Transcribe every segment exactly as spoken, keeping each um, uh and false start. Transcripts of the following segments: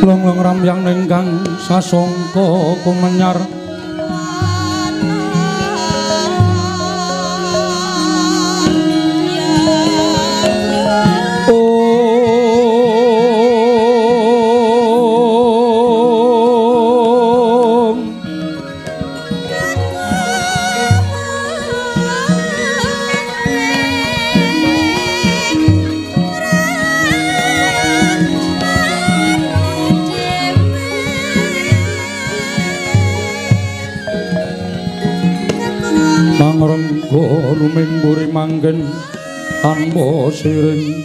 Long-long ramyang ningkang sasongko kumenyar Renggo ruming buri manggen tanpa siring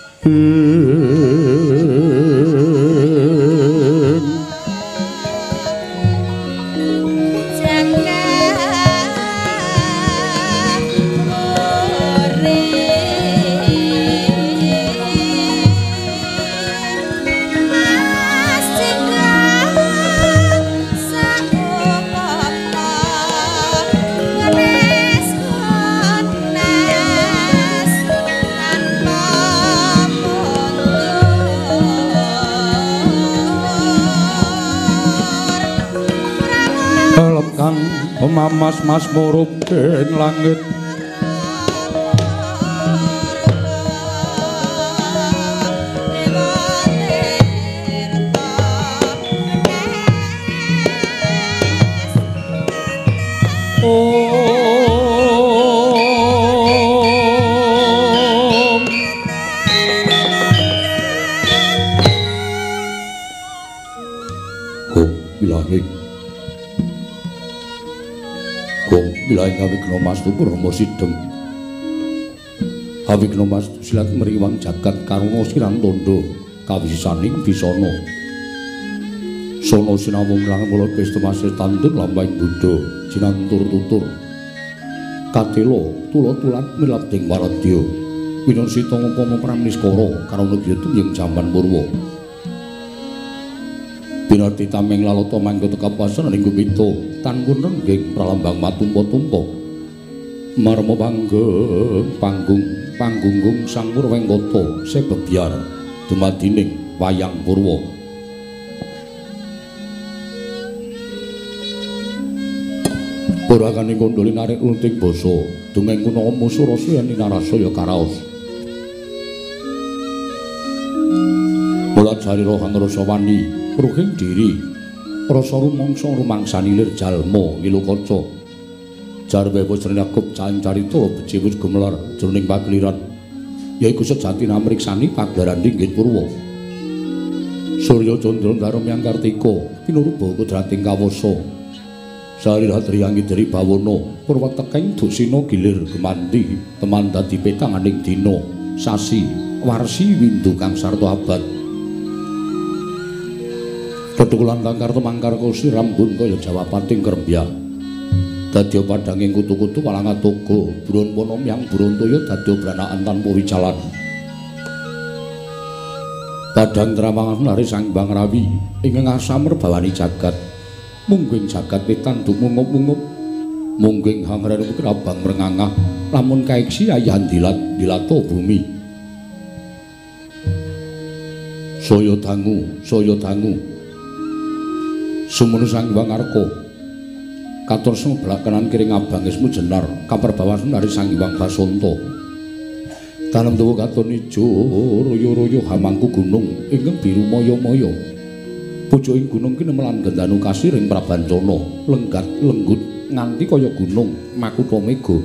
Mamas mas murup ing langit Awikna Mas Purma Sidhem Awikna Mas silat meriwang jagat karuna sirang tondo kawisisaning bisana sono sinamung lang mula pesta masih tantur lambang Buddha jinantur tutur katelo tulo-tulat milabding waradya winasita ngupama pramniskara karana gyutu ing jaman purwa binarti tameng lalata manggota kapasan ing gumita tangun rengging pralambang matumpa-tumpa marma panggeng panggung panggunggung sang Purwengkata sebebyar dumadining wayang purwa Purakaning kondoli narik lunting basa dongeng kuna musurasa yen narasaya karaos mulat sarira kang rasa wani ruhing diri rasa rumangsa rumangsani lir jalma wilukaca jarwe wis nyakup caing carita becik wis gumelar jroning pagliran yaiku sejati namriksani pagelaran inggih purwa Surya Candra Ndarum Yang Kartika pinuruba kodrating kawasa sarira triyangi dari bawana purwa teking dusina gilir gemandi teman dadi petanganing dina sasi warsi windu kang sarta abad ketukulan tangkar temangkar kursi rambun kaya jawapating kerembya dadya padhanging kutu-kutu walang atoga buron ponom yang burontaya dadya branakan tanpa wicalan padhang trawangan lari sang Hyang Rawi ingkang asam merbawani jagat mungging jagat pitanduk mungup-mungup mungging hangren kerabang mrengangah lamun kaeksi ayahan dilat dilato bumi saya dangu saya dangu sumunu sang Hyang Arka katur semblakanan kiring abang ismu jenar kaperbawan dari sang Hyang Basanta tanem dawa katon ijo royo-royo hamangku gunung ingkang biru moyo-moyo pucuking gunung kene melan gendanu kasiring prabancana lenggat lenggut nganti kaya gunung makutha mega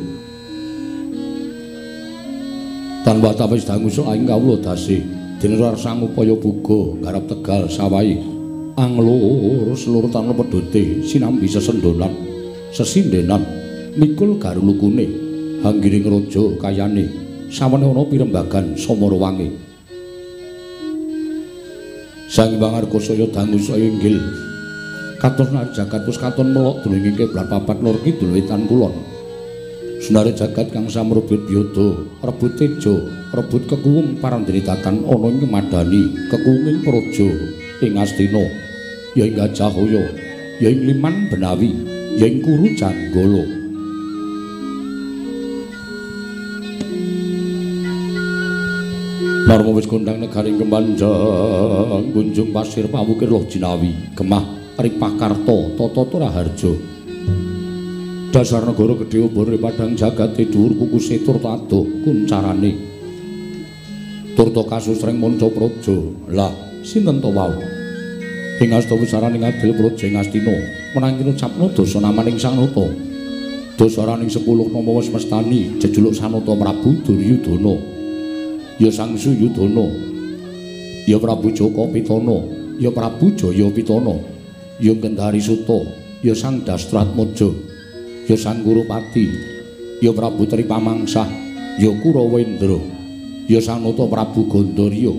tanpa tawis dangu saing kawula dasi dinerar sang upaya buga garap tegal sawahi anglur seluruh tanah pedote sinambi sesendonan sesindenan mikul garulukune hanggiring raja kayane sawane ana pirembagan samara wangi Sang Hyang Arka saya dangu saya inggil katon jagat pus katon melok dulunging keblat papat lor kidul wetan kulon sunare jagat kang samrebut yada rebut teja rebut kekuwung parandritatan ana ing madani kekuwunging praja ing Astina ya ing Gajahaya ya ing Liman Benawi ya ing Kuru Janggala Narma wis kondang negaring Kemanjang kunjung pasir pawukir loh jinawi gemah Ripakarta Tata Turaharja dasar negara gedhe umbone padang jagate dhuwur kukuse turta adoh kuncarane turta kasusreng manca praja lah sinten to wau ing asta wisaraning adil praja ing Astina menanging ngucapna dosa namaning Sang Nata dosaraning sepuluh nama wis mestani jejuluk Sanata Prabu Duryudana ya Sang Suyudana ya Prabu Jaka Pitana ya Prabu Jaya Pitana ya Gendari Suta ya Sang Dastratmaja ya Sang Kurupati ya Prabu Tripamangsah ya Kurawendra ya Sang Nata Prabu Gandharya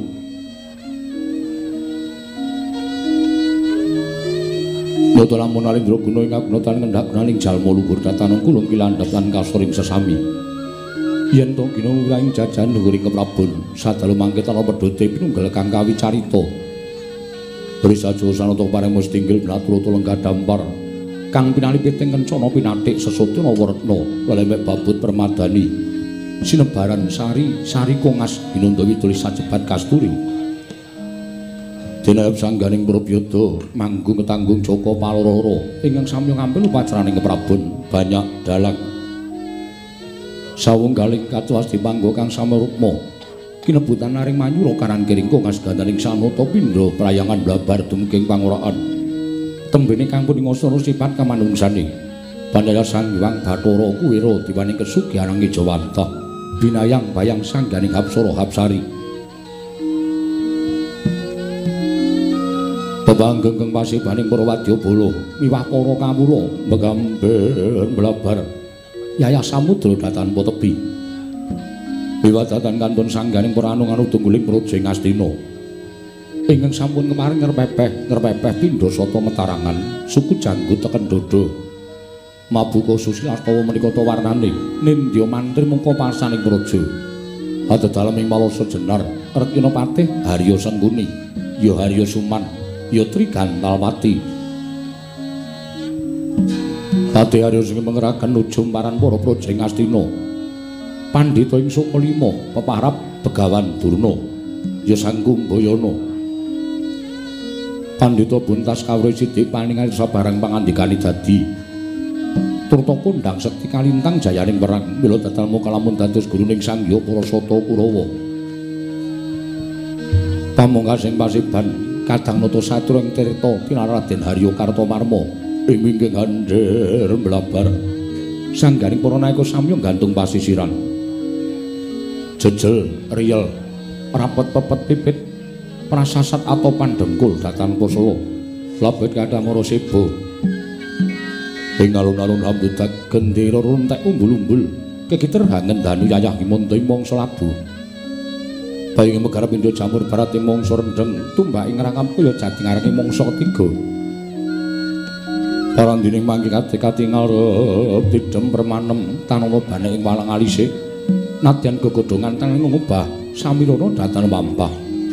Nata lamun alindra guna ing kagunatan ngendhak gunaning jalma luhur datan kulung kilandhatan kasoring sesami yen to gina wirahing jajan dhuwuring keprabon sadalu mangke tana pedhote pinunggal kang kawicarita Brisaja Sanata paring mustinggil naturata lenggah dampar kang pinalipit ing kencana pinathik sesotuna werna lelemek babut permadani sinebaran sari sari kongas binandawi tulis sajebat kasturi Dinayap sangganing Prabyada manggung ketanggung Jaka Palororo ingkang samya ngampil upacaraning keprabon banyak dalang sawunggaling katuwas dipanggo kang samarukma kinebutan naring manyura karan kiring kongas gandaning Sanata pindha prayangan blabar dumugi pangoraan tembene kang pun ngasana sifat kamanungsane Bandara Sang Hyang Bathara Kuwira diwaning kesugihan Ngejawantah binayang bayang sangganing Hapsara Hapsari bebanggeng pasibaning para wadyabala miwah para kawula megamber blabar Yaya Samudra datan Potebi Wiwadatan kantun sangganing para anung-anung tungguling praja ing Astina ingkang sampun kemarin ngerpepeh ngerpepeh pindha sata metarangan suku janggut teken dodo mabuka susilastawa menika ta warnane nindya mantri mungka pasaning praja adedalem ing malasa jenar Rekina Patih Harya Sengkuni ya Harya Suman ya Trigantalwati Patih Harya sing mengeraken ujung paran para praja ing Astina Pandhita ing Sukalima peparap Begawan Durna ya Sang Kumbayana Pandhita buntas kawruh sithik paningal sabarang pangandikane dadi turta kondang sekti kalintang jayaning perang mila dadal muka lamun dados guruning Sang Hyang Parasata Kurawa pamungkasing pasiban kadang nata satur ing tirta Kinaraden Harya Kartamarma ing wingking handher blabar sangganing para naeka samya gantung pasisiran jejel riyel rapet pepet pipit prasasat atau pandengkul datan Kosala labet kadamara seba ing alun-alun rambudak gendera runtek umbul-umbul kegiter hangendanu yayah himanta ing mangsa labu baying megarap indra jamur barat ing mangsa rendheng tumbak ing rangkap kaya jati ngarange mangsa ketiga Parandining mangke katingal tidhem permanem tanana bane ing walang alise nadyan gegodhongan tanging ngubah samirana datan wampah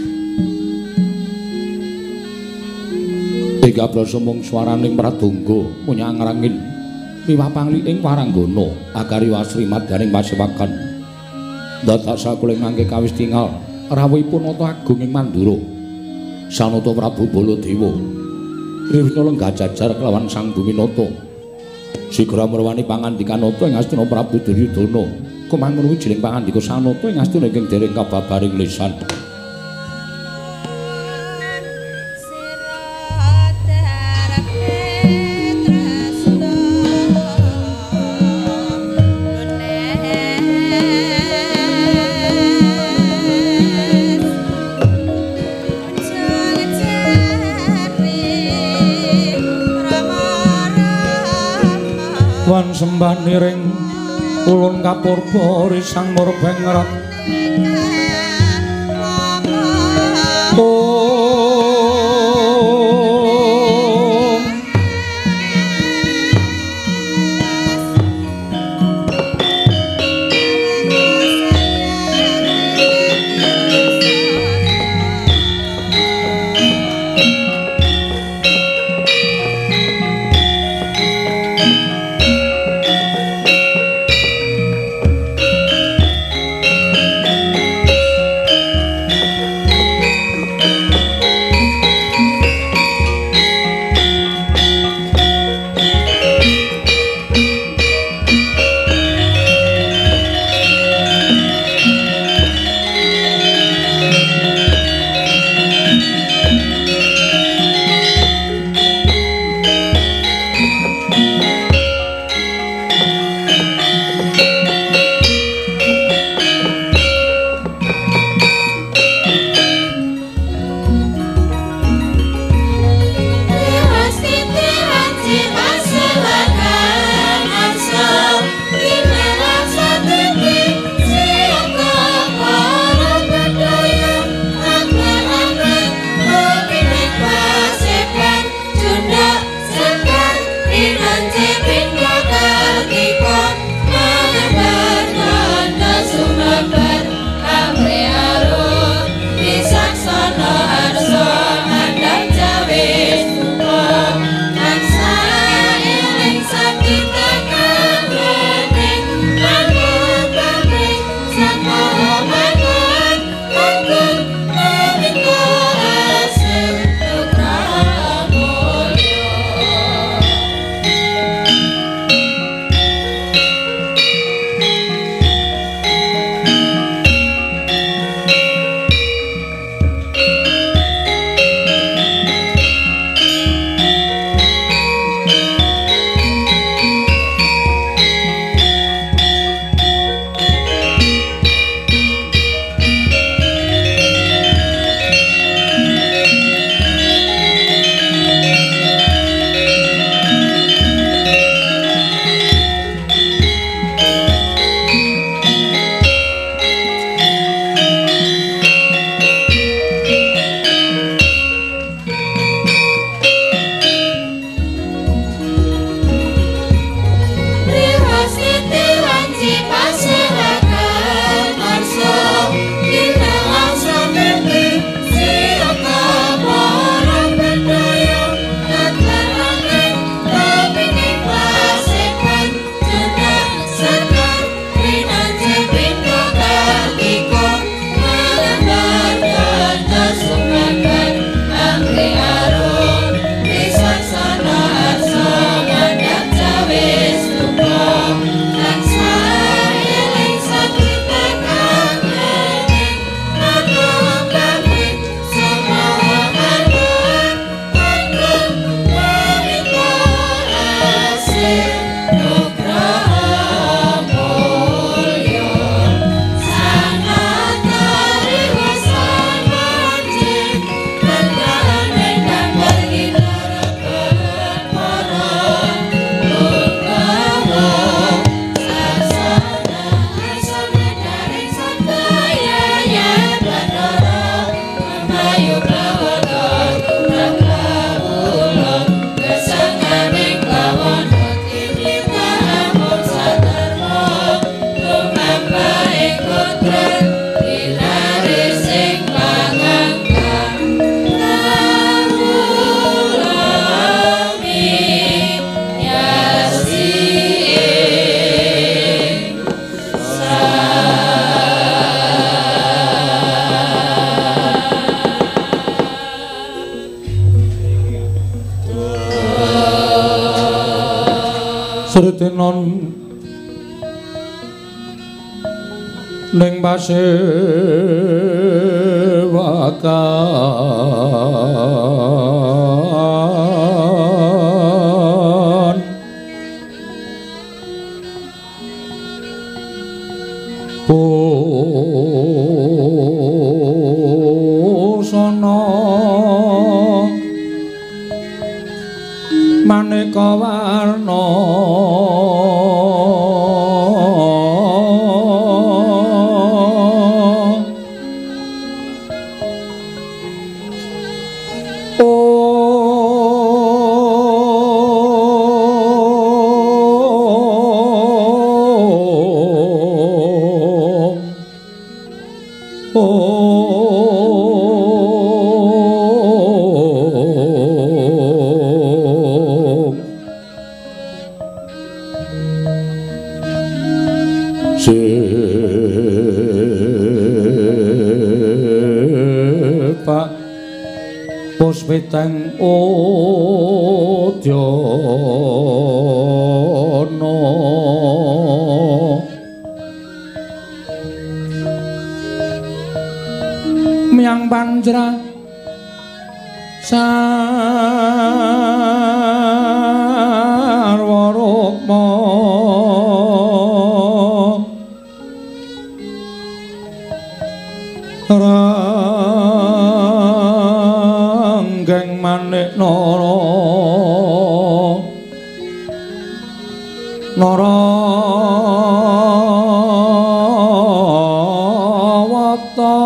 Ing abrasa mung swaraning pradonga munyang ngrangin miwah pangli ing waranggana agari wasrimat daring pasewakan dadak sakuling mangke kawis tingal rawuhipun nata agung ing Mandura Sanata Prabu Baladewa Rivna lenggah jajar kelawan Sang Buminata sigra merwani pangandikan nata ing Astina Prabu Duryudana kumangun wijining pangandika Sanata ing Astina ingkang dereng kababaring lisan wan sembah niring ulun kapurba risang murbeng ngerat Sritenon ning pasewakan busana maneka warna Pak Puspiteng Udyana Miang Panjra Sarwa Rukma Ranggeng Manik Nara Narawata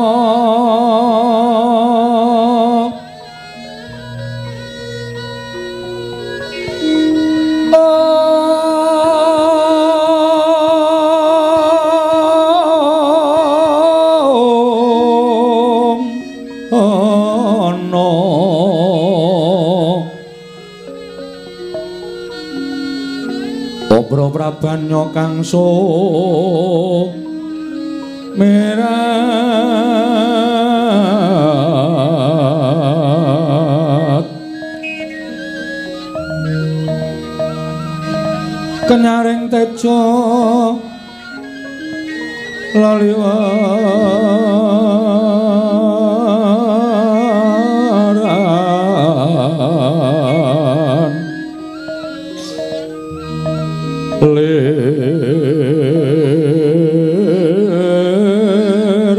Obro Prabanyo kang so merat kenyaring tejo laliwaran lir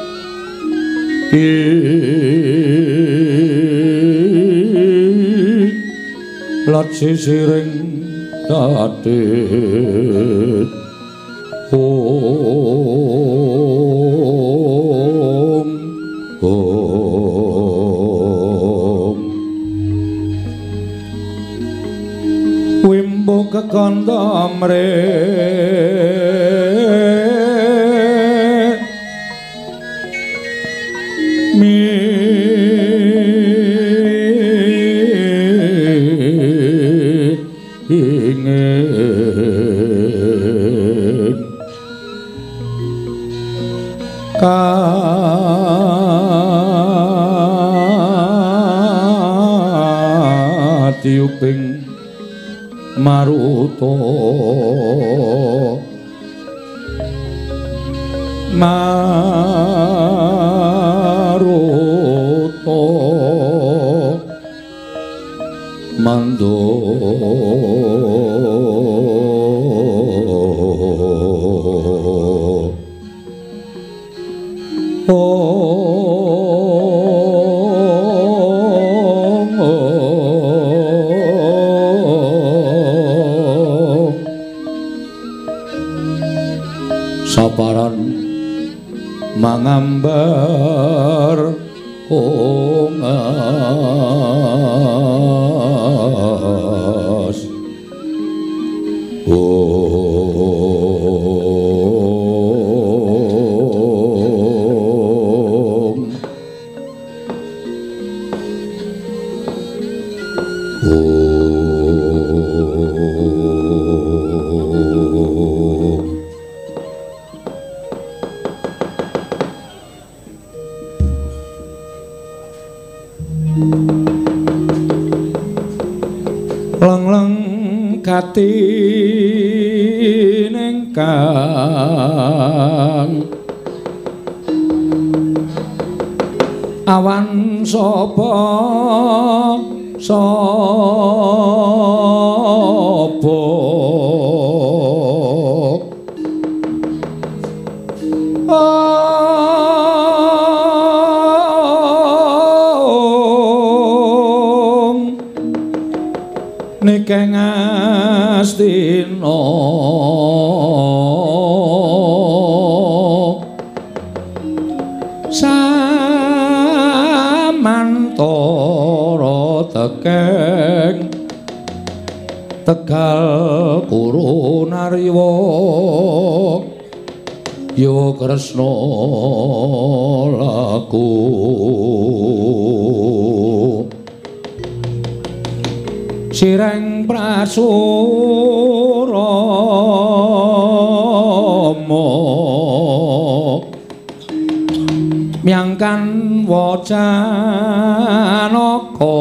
ki lat sisiring kadit om om wimbo kekanda mrih mi ingin ka Satyuping Maruta Maruta Mando saparan mangambar kongas om lang-lang katin engkang awan sapa sapa Nikeng Astina samantara tekeng Tegal Kurunarwa ya Kresna laku Sireng Prasurama miangkan wacanaka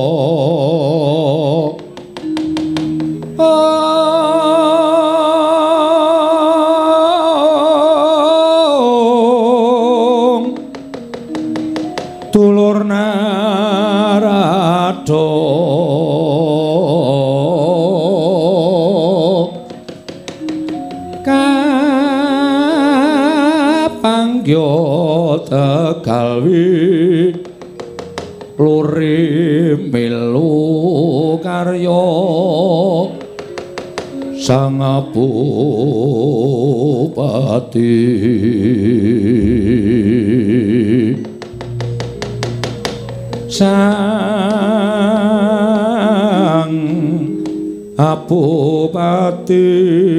dulur Narada kapangya Tegalwi luri milu karya sang Bupati sang Bupati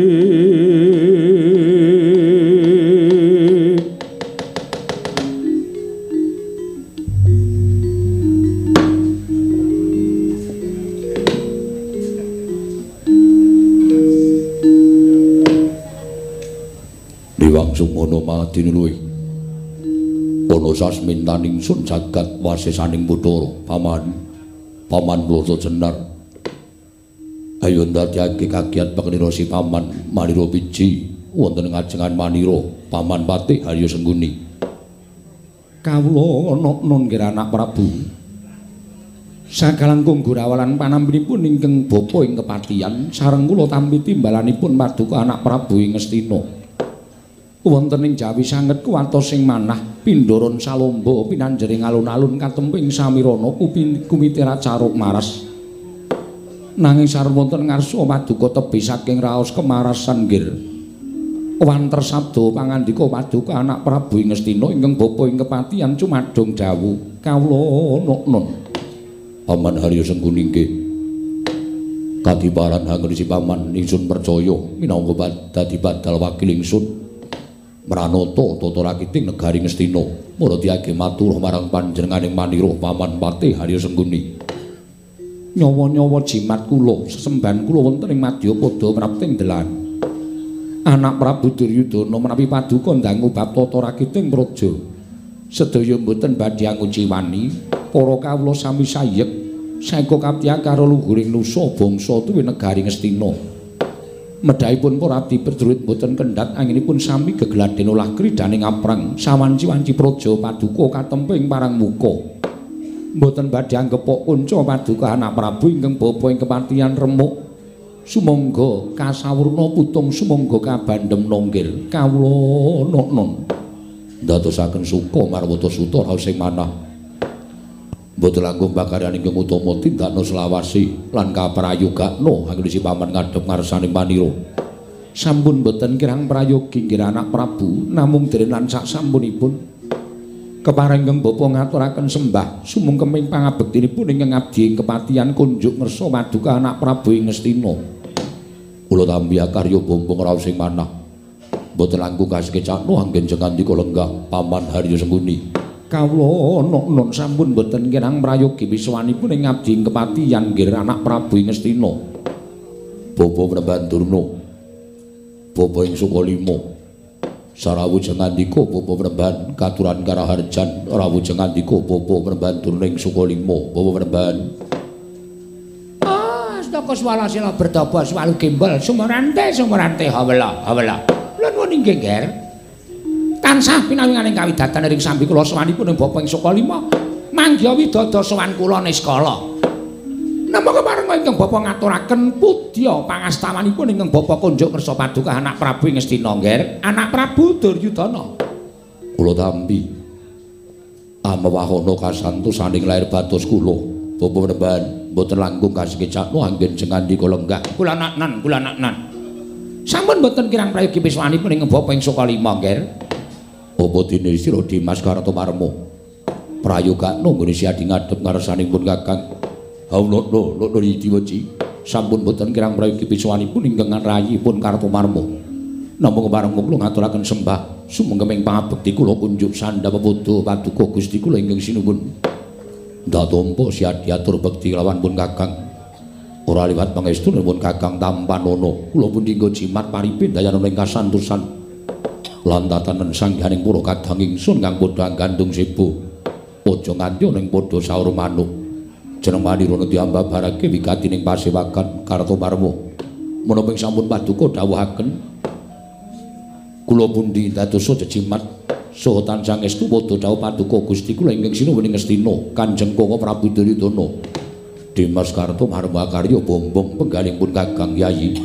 Diwangsung ana madinuluwi ana sasmintaning sun jagat wasesaning Bathara paman paman Brata Jenar ayo ndadekake kagiat pengenira si paman Manira Piji wonten ngajengan Manira paman Patih Harya Sengguni kawula ana nun kira anak Prabu sakalangkung gurawalan panambinipun ingkang bapa ing kepatihan sareng kula tampi timbalanipun paduka anak Prabu ing Ngastina wonten ing Jawi sanget kuwatos sing manah Pindaran Salomba pinanjering alun-alun katemping samirana kumitera caruk maras nanging sareng wonten ngarsa paduka tebih saking raos kemarasan nggir wanter sabda pangandika paduka anak Prabu ing Ngastina ingkang bapa ing kepatihan cumadong dawuh kawula nun Paman Harya Sengguni nggih kadiparan hangrisi paman ingsun percaya minangka dadi badal wakil ingsun Pranata tata rakiting negari Ngastina muradiyake matur marang panjenenganing Manira paman Patih Harya Sengguni nyawa-nyawa jimat kula sesembahan kula wonten ing Madyapada prapting delan anak Prabu Duryudana menawi paduka ndangu bab tata rakiting praja sedaya mboten badhe anguci wani para kawula sami sayek saengga kaptihan karo luhuring nusa bangsa tuwi negari Ngastina. Medhaipun para abdi Prajurit boten kendhat anginipun sami gegladhen ulah kridhaning aprang sawanci-wanci praja paduka katemping parang muka. Mboten badhe anggepok kunca paduka anak Prabu ingkang bapa ing kepatihan remuk. Sumangga kasawurna putung sumangga kabandhem nonggil kawula non ndadosaken suka marwata suta raos sing manah. Mboten langkung bakaryan ingkang utama tindakna selawasi lan kaprayogakna anggesi paman ngadhep ngarsane manira. Sampun boten kirang prayogi nggih anak Prabu namung derenan sak sampunipun keparenging bapa ngaturaken sembah sumungkeming pangabektinipun ingkang abdi ing kepatihan kunjuk ngersa paduka anak Prabu ing Ngastina. Kula tampi karya bombong raos sing manah. Mboten langkung kasekecakno anggen jengandika lenggah paman Harya Sengkuni. Kawula non sampun boten kirang prayogi wiswanipun ing abdi ing kepatihan nggih anak Prabu ing Ngastina. Bapa Pramban Durna. Bapa ing Sukalima. Sarawujeng andika Bapa Pramban katuran karaharjan rawujeng andika Bapa Pramban Durna ing Sukalima. Bapa Pramban. Ah, staka swalasila bertapa swalu gembel sumurante sumurante hawala hawala. Lha nuwun inggih Nger. Tansah pinawinganing kawidatan ing sambi kula sawanipun ing Bapa ing Sukalima. Mangga widada sowan kula Niskala. Namung kepareng ingkang Bapa ngaturaken pudya pangastawanipun ingkang Bapa kunjuk ngersa paduka anak Prabu ing Ngastina Nger, anak Prabu Duryudana. Kula tampi amawahana kasantosaning lair batos kula. Bapa Pramban boten langkung kasekecakno anggen jengandika lenggah. Kula naknan, kula naknan. Sampun boten kirang prayogi wiswanipun ing Bapa ing Sukalima Nger. Apa dene sira Dimas Kartomarma prayogakno nggone siadi ngadhep ngarsanipun Kakang. Haula lho lho diwoci sampun boten kirang prayogi wiswanipun ingkang rayipun Kartomarma. Namung kepareng kula ngaturaken sembah sumengkeming pangabekti kula kunjuk sandhap padha paduka Gusti kula ingkang sinuwun. Ndatompa siadi atur bekti lawan pun Kakang. Ora liwat pangestunipun Kakang Tampanana kula pun dinggo jimat paripin dayanana ing kasantosan. Lantatanen sangganing para kadang ingsun kang padha gandung sebo. Aja nganti ning padha saur manuk. Jeneng manirana diambabarake wigatining pasewakan Kartomarma. Menapa sampun paduka dawuhaken kula pundi dadosa jejimat saha tansah estu padha dawuh paduka Gusti kula ingkang sinuwun ing Ngastina Kanjeng Koko Prabu Duryudana. Dimas Kartomarma karya bombong penggalipun Kakang Yayi.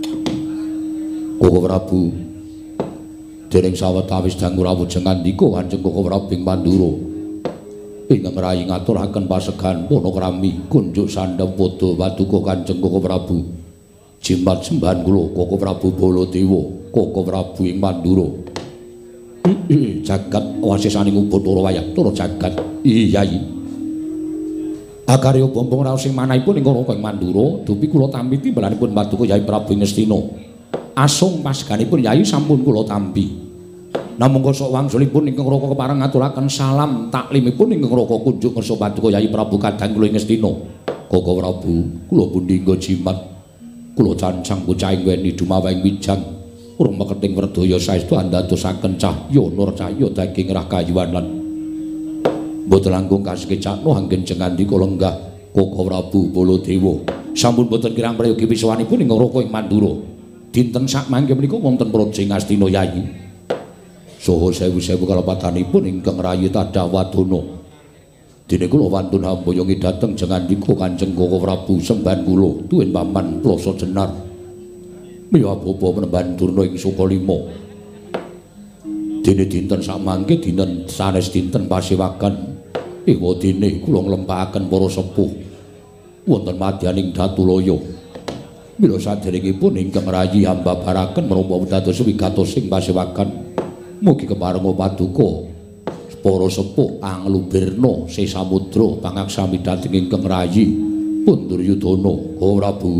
Koko Prabu dereng sawetawis dangu rawujeng andika Kanjeng Koko Prabu ing Pandura ingkang rayi ngaturaken pasegan panakrami kunjuk sandhap padha paduka Kanjeng Koko Prabu jimat sembahan kula Koko Prabu Baladewa Koko Prabu ing Pandura. Jagat wasisaning Upacara Wayah jagat Yayi. Akarya bombong raos sing manahipun ing Koko ing Mandura dupi kula tampi timbalanipun paduka Yayi Prabu ing Ngastina. Asung paseganipun Yayi sampun kula tampi. Namung kosok wangsulipun ingkang Raka kepareng ngaturaken salam taklimipun ingkang Raka kunjuk ngersa paduka Yayi Prabu kadang kula ing Ngastina. Koko Prabu, kula pundi nggo jimat. Kula cancang bocah ing weni dumawahing wijang. Urung meketing werdaya saestu andadosaken cahya nur cahya daging rahkayuwan lan mboten langkung kasekecakno anggen jengandika lenggah Koko Prabu Baladewa. Sampun boten kirang prayogi wiswanipun ingkang Raka ing Mandura. Dinten sak mangke menika wonten praja ing Astina Yayi. Saha sewu-sewu kalepatanipun ingkang rayi Tadawadana. Dene kula wantun hambayongi dhateng jengandika Kanjeng Koko Prabu sembahan kula tuwin paman plasa jenar. Miya Bapa Pramban Durna ing Sukalima. Dene dinten sak mangke dinten sanes dinten pasewakan. Ewa dene kula nglempahaken para sepuh wonten madyaning Datulaya. Mila saderengipun ingkang rayi ambabaraken menapa dados wigatos ing pasewakan. Mugi kepareng paduka para sepuh anglubirna sesamudra pangaksami dhateng ingkang rayi pun Duryudana Koko Prabu.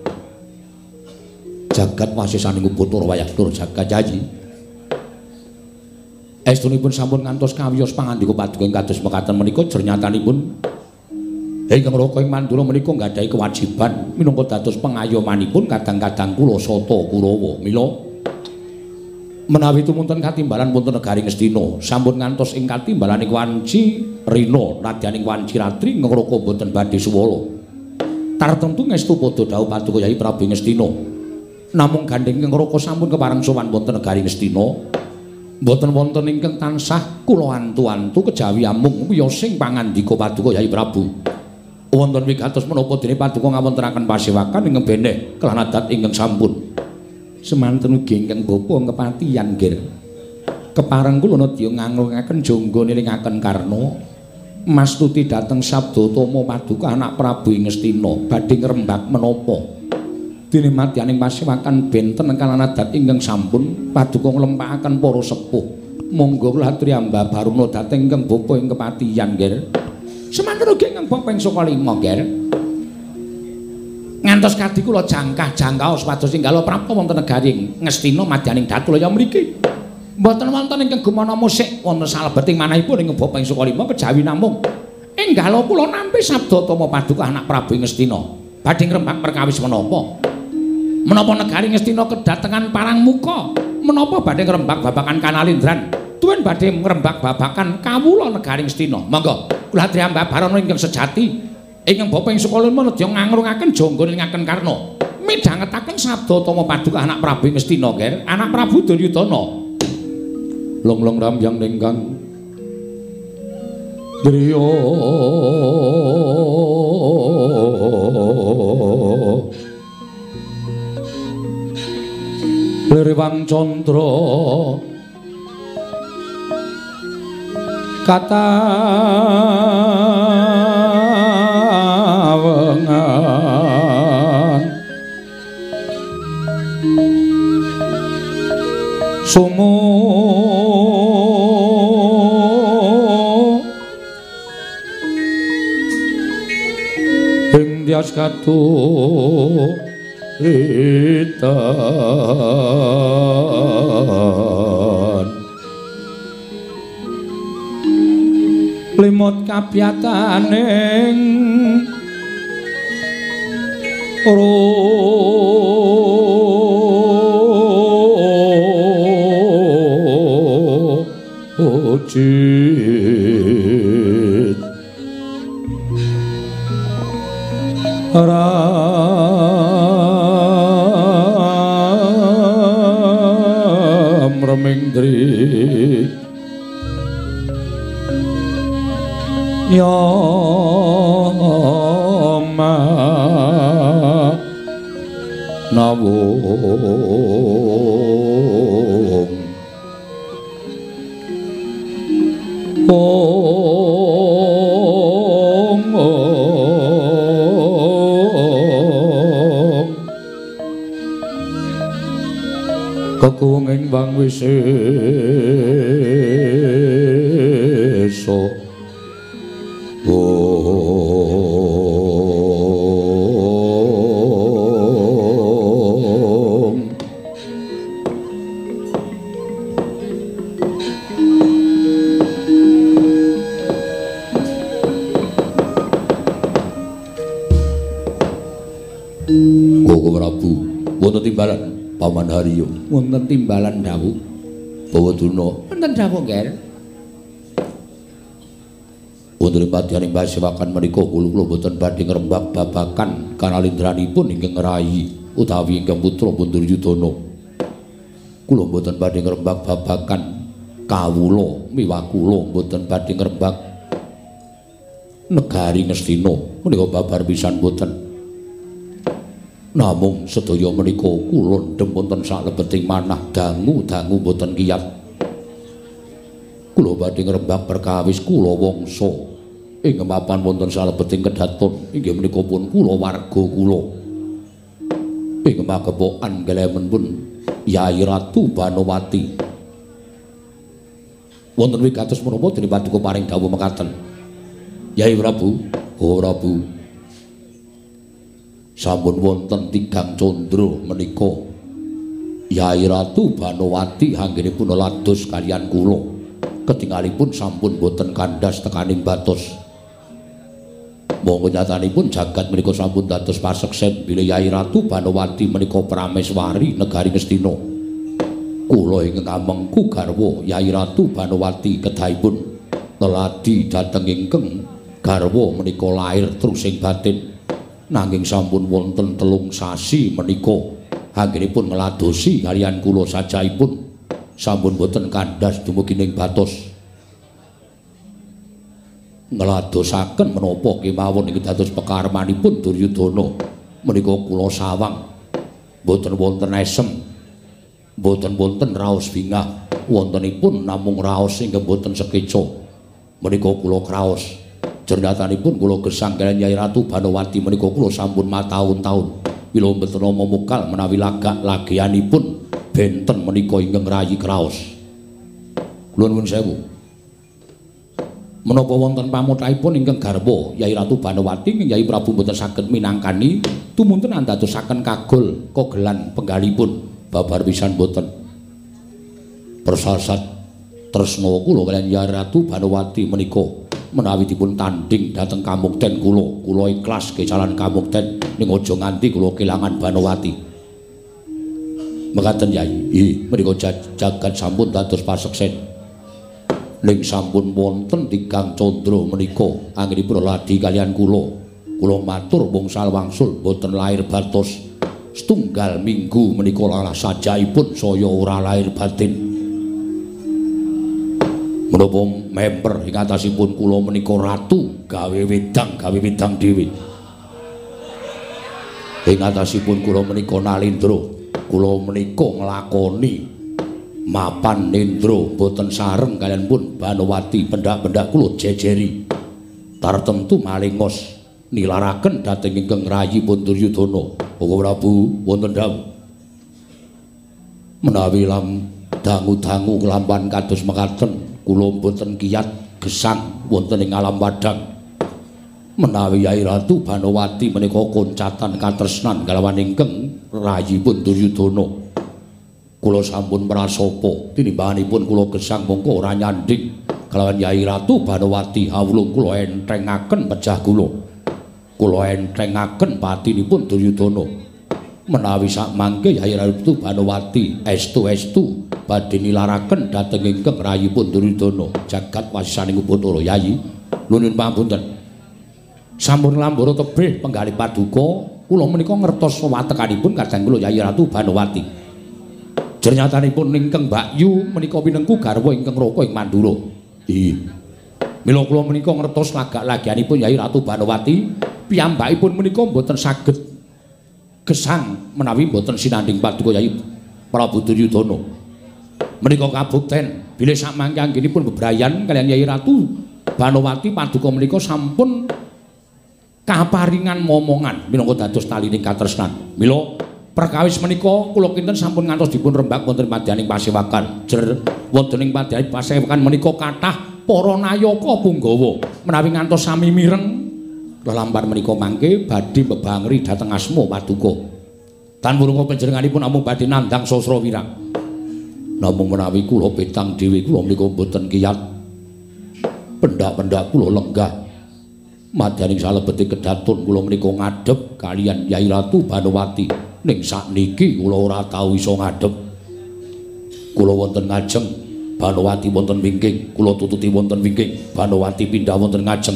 Jagat wasisaning Upacara Wayah jagat Yayi. Estunipun sampun ngantos kawiyos pangandika paduka ing kados mekaten menika jernyatanipun ingkang Raka ing Mandura menika nggadahi kewajiban minangka dados pengayomanipun kadang-kadang kula Sata Kurawa. Mila menawi tumunten katimbalan wonten negari Ngastina sampun ngantos ing katimbalaning wanci rina radyaning wanci ratri Raka boten badhe suwala tartemtu ngestu padha dawuh Paduka Yai Prabu Ngastina. Namung gandeng ingkang raka sampun kepareng sowan wonten negari Ngastina. Mboten wonten ingkang tansah kula antu-antu kejawi amung wiyosing pangandika Paduka Yai Prabu. Wonten wigatos menapa dene Paduka ngawontenaken pasewakan ingkang beneh kelan adat ingkang sampun. Semanten ugi ingkang bapa kepatihan nggih. Kepareng kula nedya nganglungaken jangga nilingaken Karna. Mastuti dhateng Sabdatama Paduka anak Prabu Ngastina badhe ngrembak menapa. Dene madyaning pasewakan benten kalan adat ingkang sampun Paduka nglempakaken para sepuh. Monggo kula aturi ambah baruna dhateng ingkang bapa ing kepatihan nggih. Semanten ugi ingkang bapa ing saka lima nggih. Ngantos kadhi kula jangkah-jangkaos pados inggalo prapta wonten negari Ngastina madyaning Datulaya mriki. Mboten wonten ingkang gumana musik wonten salebeting manahipun ing bapa ing saka lima kejawi namung enggalo kula nampi Sabdatama Paduka anak Prabu Ngastina badhe ngrembak perkawis menapa. Menapa negari Ngastina kedatengan parang muka, menapa badhe ngrembak babakan Kanalindran, tuwin badhe ngrembak babakan kawula negari Ngastina. Monggo kula aturi ambah barana ingkang sejati ingkang bapa ing saka lima nedya ngangrungaken jangga nilingaken Karna. Midhangetaken Sabdatama Paduka anak Prabu Ngastina nggih, anak Prabu Duryudana. Long-long rambyang ningkang driya Lirwang Candra katawengan sungu ing dias katuritan limut kabiyataning rojit ram remengdri yama nawung ong ong kekuwenging wang wisesa timbalan Paman Haryo wonten timbalan dawuh Bawaduna wonten dawuh nggih wonten padyaning pasewakan menika kula kula boten badhe ngrembak babakan kanalindranipun ingkang ngerahi utawi ingkang putra Duryudana kula boten badhe ngrembak babakan kawula miwah kula boten badhe ngrembak negari Ngastina menika babar pisan boten. Namung sedaya menika kula ndhem wonten salebeting manah dangu-dangu boten kiyat. Kula badhe ngrembak perkawis kula wangsa ing mapan wonten salebeting kedaton inggih menika pun kula warga kula. Ing magepokan gelemenipun Yai Ratu Banowati. Wonten wigatos menapa dening Paduka paring dawuh mekaten. Yai Prabu, oh Prabu. Sampun wonten tigang candra menika Yai Ratu Banowati anggenipun lados kaliyan kula ketingalipun sampun boten kandhas tekaning batos monggo nyatanipun jagat menika sampun dados paseksen bilih Yai Ratu Banowati menika prameswari negari Ngastina kula ingkang amengku garwa Yai Ratu Banowati kedahipun neladi dhateng ingkang garwa menika lair terusing batin nanging sampun wonten telung sasi menika anggenipun ngladosi kaliyan kula sajaipun sampun boten kandhas dumugi ning batos ngladosaken menapa kemawon ing dados pekaremanipun Duryudana menika kula sawang boten wonten esem boten wonten raos bingah wontenipun namung raos ingkang boten sekeca menika kula kraos jernatanipun kula gesang kaliyan Nyai Ratu Banowati menika kula sampun mataun-taun mila mboten memukal menawi lagak lagianipun benten menika ingkang rayi kraos kula nuwun sewu menapa wonten pamuthaipun ingkang garwa Nyai Ratu Banowati ing Nyai Prabu mboten saged minangkani tumuntun andadosaken kagol kogelan penggalipun babar pisan boten persasat tresna kula kaliyan Nyai Ratu Banowati menika menawi dipun tanding dhateng kamukten kula kula ikhlas kecalan kamukten ning aja nganti kula kelangan Banowati mekaten Yai nggih menika jagat sampun dados paseksen ning sampun wonten Tigang Candra menika anggenipun ladi kaliyan kula kula matur wangsul wangsul boten lair batos setunggal minggu menika lalah sajaipun saya ora lair batin menapa memper ing atasipun kula menika ratu gawe wedang gawe wedang dhewe ing atasipun kula menika Nalendra kula menika nglakoni mapan nendra boten sareng kaliyan pun Banowati pendak-pendak kula jejeri tartemtu malingos nilaraken dhateng ingkang rayi pun Duryudana Bapak Prabu wonten dawuh menawi lam dangu-dangu kelampan kados mekaten kula boten kiyat gesang wonten ing alam wadhang menawi Nyai Ratu Banowati menika koncatan katresnan kalawan ingkang rayipun Duryudana kula sampun prasapa tinimbanganipun kula gesang mongko ora nyandhing kalawan Nyai Ratu Banowati hawulung kula entrengaken pejah kula kula entrengaken patinipun Duryudana menawi sak mangke Nyai Ratu Banowati estu-estu badhe nilaraken dhateng ingkang rayipun Duryudana jagat wasisaning Bathara Yayi nuwun pamunten sampun lambara tebih penggalih paduka kula menika ngertos watekanipun kadang kula Nyai Ratu Banowati jernyatanipun ingkang Mbakyu menika pinengku garwa ingkang Raka ing Mandura nggih mila kula menika ngertos lagak-lagianipun Nyai Ratu Banowati piyambakipun menika mboten saged gesang menawi mboten sinanding paduka Nyai Prabu Duryudana menika kabukten bilih sak mangke anggenipun bebrayan kaliyan Nyai Ratu Banowati paduka menika sampun kaparingan momongan minangka dados talining katresnan mila perkawis menika kula kinten sampun ngantos dipun rembak wonten madyaning pasewakan jer wonten ing madyaning pasewakan menika kathah para nayaka punggawa menawi ngantos sami mireng lelampar menika mangke badhe bebangri dhateng asma paduka tan murungka panjenenganipun namung badhe nandhang sastra wirang namung menawi kula petang dhewe kula menika mboten kiyat pendak-pendak kula lenggah madyaning salebete kedatun kula menika ngadhep kaliyan Nyai Ratu Banowati ning sakniki kula ora tau iso ngadhep kula wonten ngajeng Banowati wonten wingking kula tututi wonten wingking Banowati pindah wonten ngajeng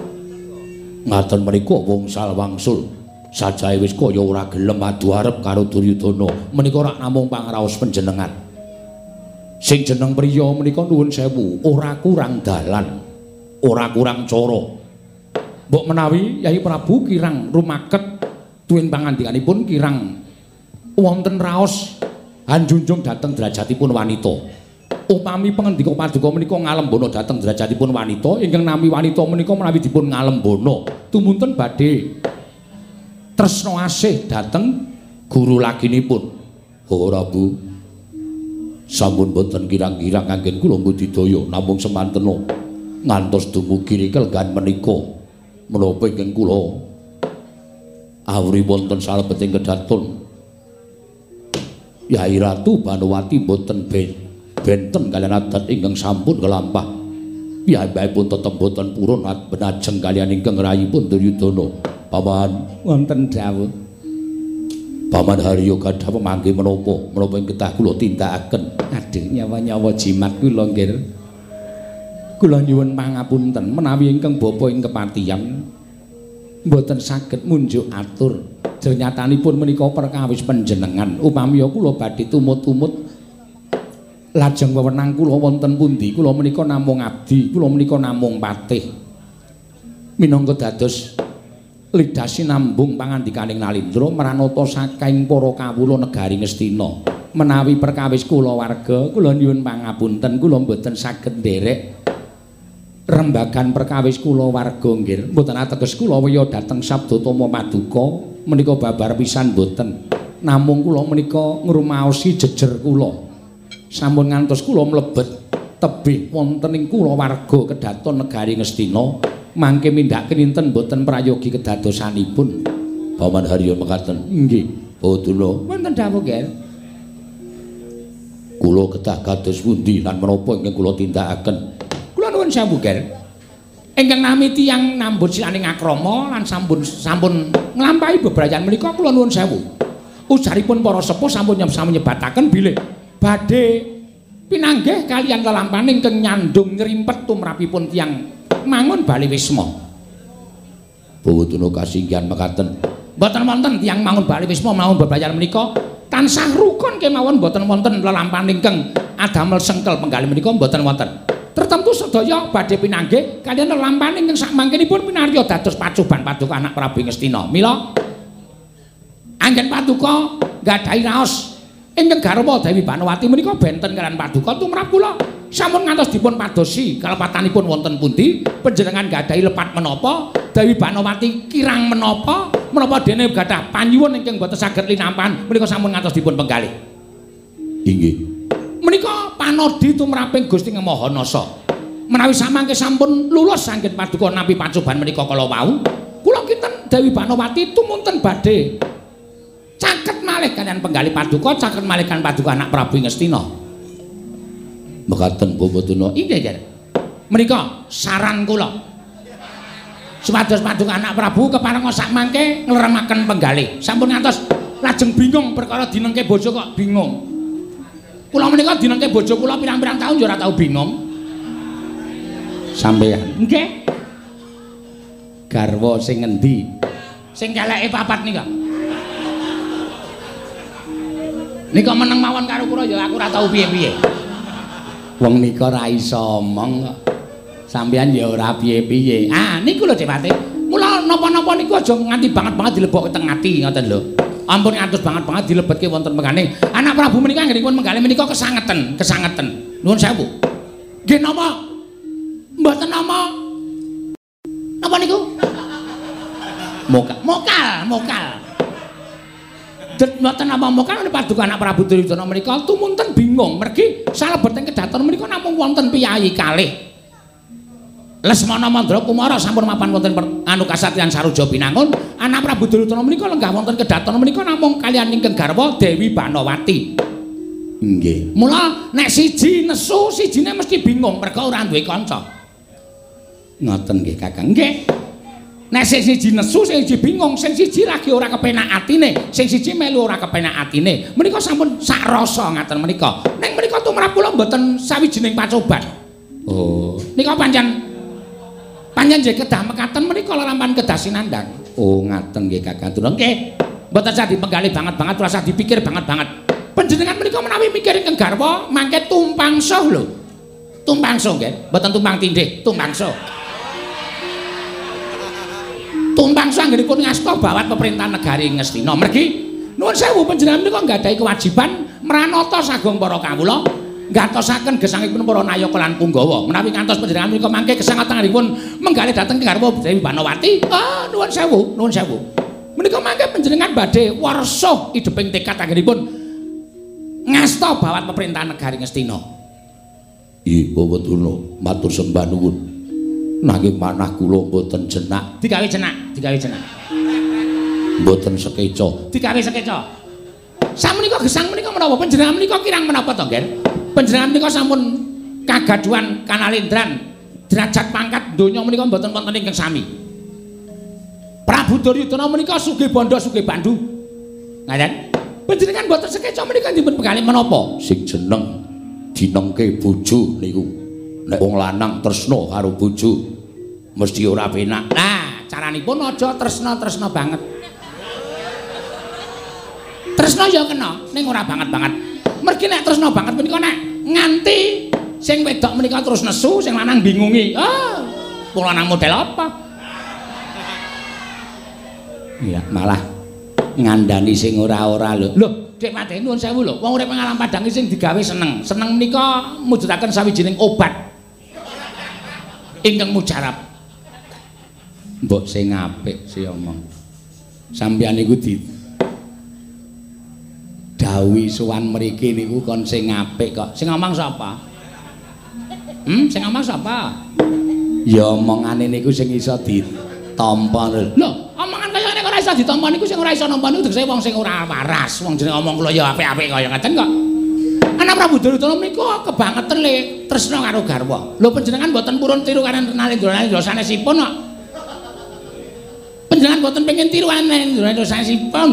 ngaten menika wangsul wangsul sajae wis kaya ora gelem adu arep karo Duryudana menika rak namung pangraos panjenengan sing jeneng priya menika nuwun sewu ora kurang dalan ora kurang cara mbok menawi Nyai Prabu kirang rumaket tuwin pangandikanipun kirang wonten raos anjunjung dhateng derajatipun wanita upami pangendika paduka menika ngalembana dhateng derajatipun wanita ingkang nami wanita menika menawi dipun ngalembana tumuntun badhe tresna asih dhateng guru laginipun ora Bu sampun boten kirang-kirang kanggen kula budidaya namung semantena ngantos dumugi rikelgan menika menapa ingkang kula awri wonten salebeting kedatun Nyai Ratu Banowati boten benten kaliyan adat ingkang sampun kelampah piyambakipun tetep boten purun benajeng kaliyan ingkang rayipun Duryudana paman wonten dawuh paman Harya gadah pemangke menapa menapa ing ketah kula tindakaken aduh nyawa-nyawa jimat kula nggih kula nyuwun pangapunten menawi ingkang bapa ing kepatihan mboten saged munjuk atur. Jernyatanipun menika perkawis panjenengan upami kula badhe tumut-tumut lajeng wewenang kula wonten pundi kula menika namung abdi, kula menika namung patih. Minangka dados lidah sinambung pangandikaning Nalindra maranata saking para kawula negari Ngastina. Menawi perkawis kula warga, kula nyuwun pangapunten, kula mboten saged nderek rembagan perkawis kula warga nggih. Mboten ateges kula wiya dhateng Sabdatama Paduka menika babar pisan mboten. Namung kula menika ngrumaosi jejer kula. Sampun ngantos kula mlebet tebih wonten ing kula warga kedaton negari Ngastina. Mangke mindhak kinten mboten prayogi kedadosanipun. Paman Haryo mekaten. Nggih. Boduna. Wonten dawuh nggih. Kula kedah kados pundi lan menapa ingkang kula tindakaken. Kula nuwun sewu, Ger. Ingkang nami tiyang nambut silaning akrama lan sampun sampun nglampahi bebrayan menika kula nuwun sewu. Ujaripun para sepuh sampun nyebataken bilih badhe pinanggih kaliyan lelampaning ingkang nyandung ngrimpet tumrapipun tiyang mangun bali wisma. Bawuduna kasinggihan mekaten. Mboten wonten tiyang mangun bali wisma mawon bebrayan menika tansah rukun kemawon mboten wonten lelampaning ingkang adamel sengkel penggalih menika mboten wonten. Tertentu sedaya badhe pinanggih kaliyan lelampaning ingkang sakmangkenipun pinarya dados pacuban Paduka anak Prabu Ngastina. Mila anggen Paduka nggadahi raos ingkang garwa Dewi Banowati menika benten kaliyan Paduka tumrap kula sampun ngantos dipun padosi kalepatanipun wonten pundi panjenengan nggadahi lepat menapa Dewi Banowati kirang menapa menapa dene gadah panyuwun ingkang boten saged linampan menika sampun ngantos dipun penggalih. Inggih. Menika panodi tumraping Gusti Mahanasa. Menawi samangke sampun lulus saking Paduka nampi pacoban menika kala wau, kula kinten Dewi Banowati tumunten badhe caket malih kaliyan penggalih Paduka, caket malih kan Paduka anak Prabu Ngastina. Mekaten Bawudana. Inggih, Ger. Menika saran kula. Supados Paduka anak Prabu keparenga sakmangke ngleremaken penggalih. Sampun ngantos lajeng bingung perkara dinengke bojo kok bingung. Kula menika dinengke bojo kula pirang-pirang taun ya ora tau bingung. Sampeyan. Nggih. Garwa sing ngendi? Sing keleke papat nika. Nika meneng mawon karo kula ya aku ora tau piye-piye. Wong nika ra iso omong kok. Sampeyan ya ora piye-piye. Ah, niku lho Cepate. Mula napa-napa niku aja nganti banget-banget dilebokke teng ati ngoten lho. Ampun ngantos banget-banget dilebetke wonten mengane. Anak Prabu menika anggenipun menggalih menika kesangeten, kesangeten. Nuwun sewu. Nggih napa? Mboten nama. Napa niku? Mokal, mokal, mokal. Det mboten nama mokal Paduka anak Prabu Duryudana menika tumunten bingung mergi salebet ing kedaton menika namung wonten piyayi kalih. Lesmana Mandra Kumara sampun mapan wonten anu kasatyan Saruja Pinangun, anak Prabu Duryudana menika lenggah wonten kedaton menika namung kaliyan ingkang garwa Dewi Banowati. Nggih. Mula nek siji nesu, sijine mesti bingung merga ora duwe kanca. Ngoten nggih Kakang. Nggih. Nek sing siji nesu, sing siji bingung, sing siji lagi ora kepenak atine, sing siji melu ora kepenak atine. Menika sampun sak rasa ngaten menika. Ning menika tumrap kula mboten sawijining pacoban. Oh, nika pancen pancen nggih kedah mekaten menika lelampahan kedah sinandang. Oh, ngaten nggih Kakang. Nggih. Mboten usah dipenggali banget-banget, ora usah dipikir banget-banget. Panjenengan menika menawi mikir ingkang garwa mangke tumpang soh lho. Tumpang soh nggih, mboten tumpang tindih, tumpang soh. Tumpang soh anggenipun ngasta bawat pemerintahan negari Ngastina. Mergi nuwun sewu panjenengan menika nggadahi kewajiban mranata sagung para kawula, ngatosaken gesangipun para nayaka lan punggawa. Menawi ngantos panjenengan menika mangke kesangatanipun menggalih dhateng garwa Dewi Banowati, ah nuwun sewu, nuwun sewu. Menika mangke panjenengan badhe warsa ideping tekad anggenipun ngasta bawat pemerintahan negari Ngastina. Nggih, Bawudana, matur sembah nuwun. Nanging manah kula mboten jenak. Digawe jenak, digawe jenak. Mboten sekeca. Digawe sekeca. Samenika gesang menika menapa panjenengan menika kirang menapa to, Nggih? Panjenengan menika sampun kagaduhan kanalendran derajat pangkat donya menika mboten wonten ingkang sami. Prabu Duryudana menika sugih bondo sugih bandu. Ngaten? Panjenengan mboten sekeca menika dipun penggalih menapa? Sing jeneng dinengke bojo niku. Nek wong lanang tresna karo bojo mesti ora penak. Nah, caranipun aja tresna-tresna banget. Tresna ya kena, ning ora banget-banget. Mergi nek tresna banget menika nek nganti sing wedok menika terus nesu, sing lanang bingungi. Ah, wong lanang model apa? Iya, malah ngandani sing ora-ora lho. Lho, Dik Mate nuwun sewu lho. Wong urip ing alam padang sing digawe seneng. Seneng menika mujudaken sawijining obat. Ingkang mujarab. Mbok sing apik si omong. Sampeyan niku di dawuhi sowan mriki niku kon sing apik kok. Sing ngomong sapa? Hmm, sing ngomong sapa? Ya omongane niku sing iso ditampa lho. Lho, omongan kaya ngene kok ora iso ditampa niku sing ora iso nampa niku tegese wong sing ora waras. Wong jenenge omong kula ya apik-apik kaya ngaten kok. Anak Prabu Duryudana menika kebangetan le tresna karo garwa. Lho panjenengan mboten purun tiru karo Nalendra sanesipun kok. Panjenengan mboten pengin tiru karo Nalendra sanesipun.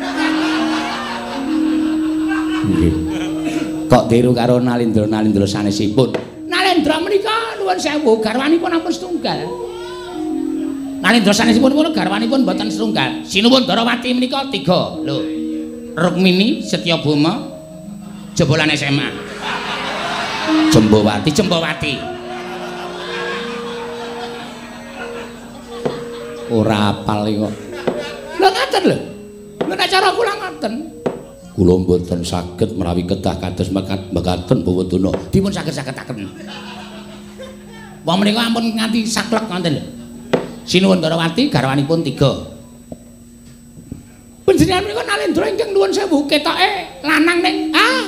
Nggih. Kok tiru karo Nalendra Nalendra sanesipun? Nalendra menika nuwun sewu garwanipun ampun setunggal. Nalendra sanesipun pun garwanipun mboten setunggal. Sinuwun Darawati menika tiga. Lho. Rukmini Setyabama jebolan S M A. Jembowati, Jembowati. Ora apal kok. Lha ngaten lho. Lha nek cara kula ngaten. Kula mboten saged menawi kedah kados mekaten Bawadana. Dipun saged-sagetaken. Wong menika ampun nganti saklek ngoten lho. Sinuwun Darawati garwanipun tiga. Panjenengan menika Nalendra ingkang nuwun sewu ketoke lanang ning ah.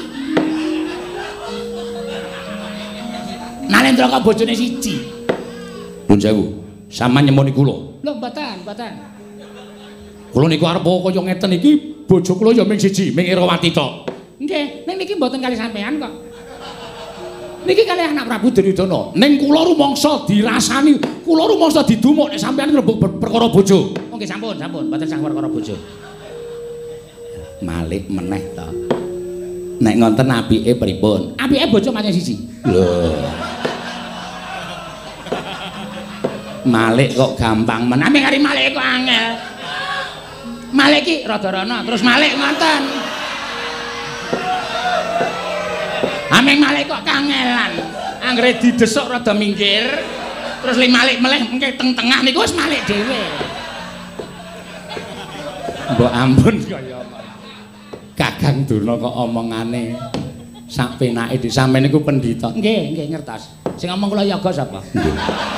Nalendra kok bojone siji. Nuwun sewu. Sama nyemoni kula. Lho mboten, mboten. Kula niku arep kaya ngeten iki bojo kula ya ming siji, ming Irawati tok. Nggih, ning niki mboten kali sampean kok. Niki kalih anak Prabu Duryudana. Ning kula rumangsa dirasani, kula rumangsa didumuk nek sampean ngrembug perkara bojo. Oh nggih sampun, sampun, mboten sang perkara bojo. Malik meneh to. Nek ngonten apike pripun? Apike bojo pancen siji. Lho. Malik kok gampang men. Ame kari Malik kok angel. Malik iki rada rono, terus Malik ngoten. Ameng Malik kok kangelan. Anggere didesuk rada minggir, terus li Malik meleh mengke teng tengah niku wis Malik dhewe. Mbok ampun kaya Kakang Durna kok omongane sak penake di sampeyan niku pendhita. Nggih, nggih ngertos. Sing ngomong kula yoga sapa? Nggih.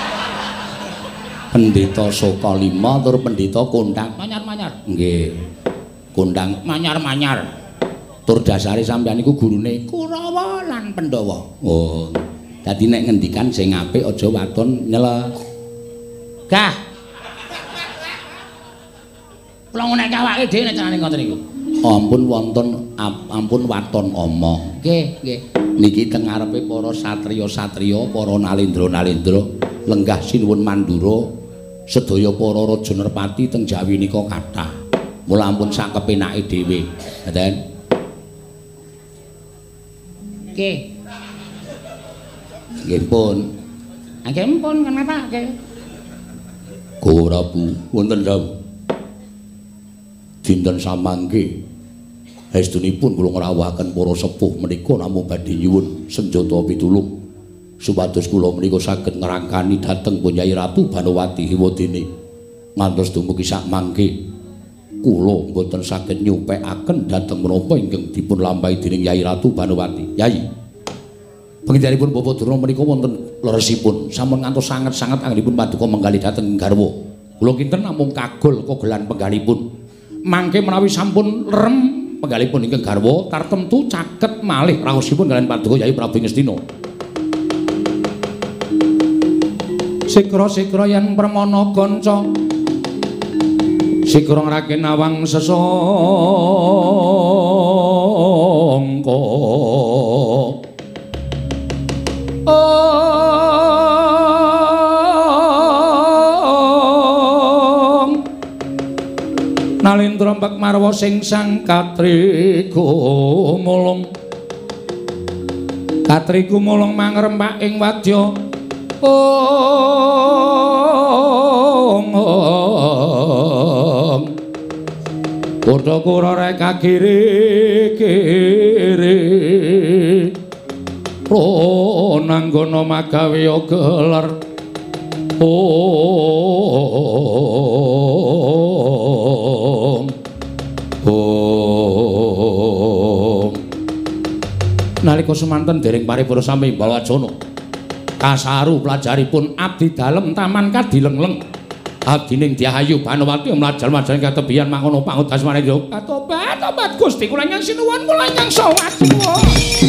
Pendhita Sokalima tur pendhita Kondang manyar-manyar. Nggih. Kondang manyar-manyar. Tur dasare sampeyan niku gurune Kurawa lan Pandhawa. Oh. Dadi nek ngendikan sing apik aja waton nyela. Gah. Kula ngonek awake dhewe nek carane ngoten niku. Ampun wonten ampun waton omong. Nggih, nggih. Niki teng ngarepe para satriya-satriya, para nalendra-nalendra, lenggah sinuwun Mandura, sedaya para raja Nerpati teng Jawi nika kathah. Mula ampun sak kepenake dhewe. Ngoten. Nggih. Nggih pun. Nggih pun kenapa nggih? Ora Bu, wonten dawuh. Dinten samangke estunipun kula ngrawuhaken para sepuh menika namung badhe nyuwun senjata pitulung supados kula menika saged ngrangkani dhateng Nyai Ratu Banowati Hiwadene ngantos dumugi sak mangke kula mboten saged nyupekaken dhateng menapa ingkang dipun lampahi dening Nyai Ratu Banowati. Yai pengidhanipun Bapak Durna menika wonten leresipun sampun ngantos sanget-sanget anggenipun paduka menggali dhateng garwa. Kula kinten namung kagol kogelan penggalipun. Mangke menawi sampun lerem penggalipun ingkang garwa tartemtu caket malih raosipun kaliyan paduka Yai Prabu Ngastina. Sikra-sikra yen permana kanca sikra ngraken awang sesangka. Nalendra mbek marwa sing sang Katri gumulung Katri gumulung mangrempak ing wadya ong Kutha kura rek kagiri-giri ro nanggana magawe gelar Om Om nalika semanten dereng paripura sami Balwacana kasaru pelajaripun abdi dalem taman kadilengleng abdining Dyahayu Banowati mlajal-mlajaring katebian mangono pangudas manungsa tobat tobat Gusti kula nyang sinuwun kula nyang sowat sinuwun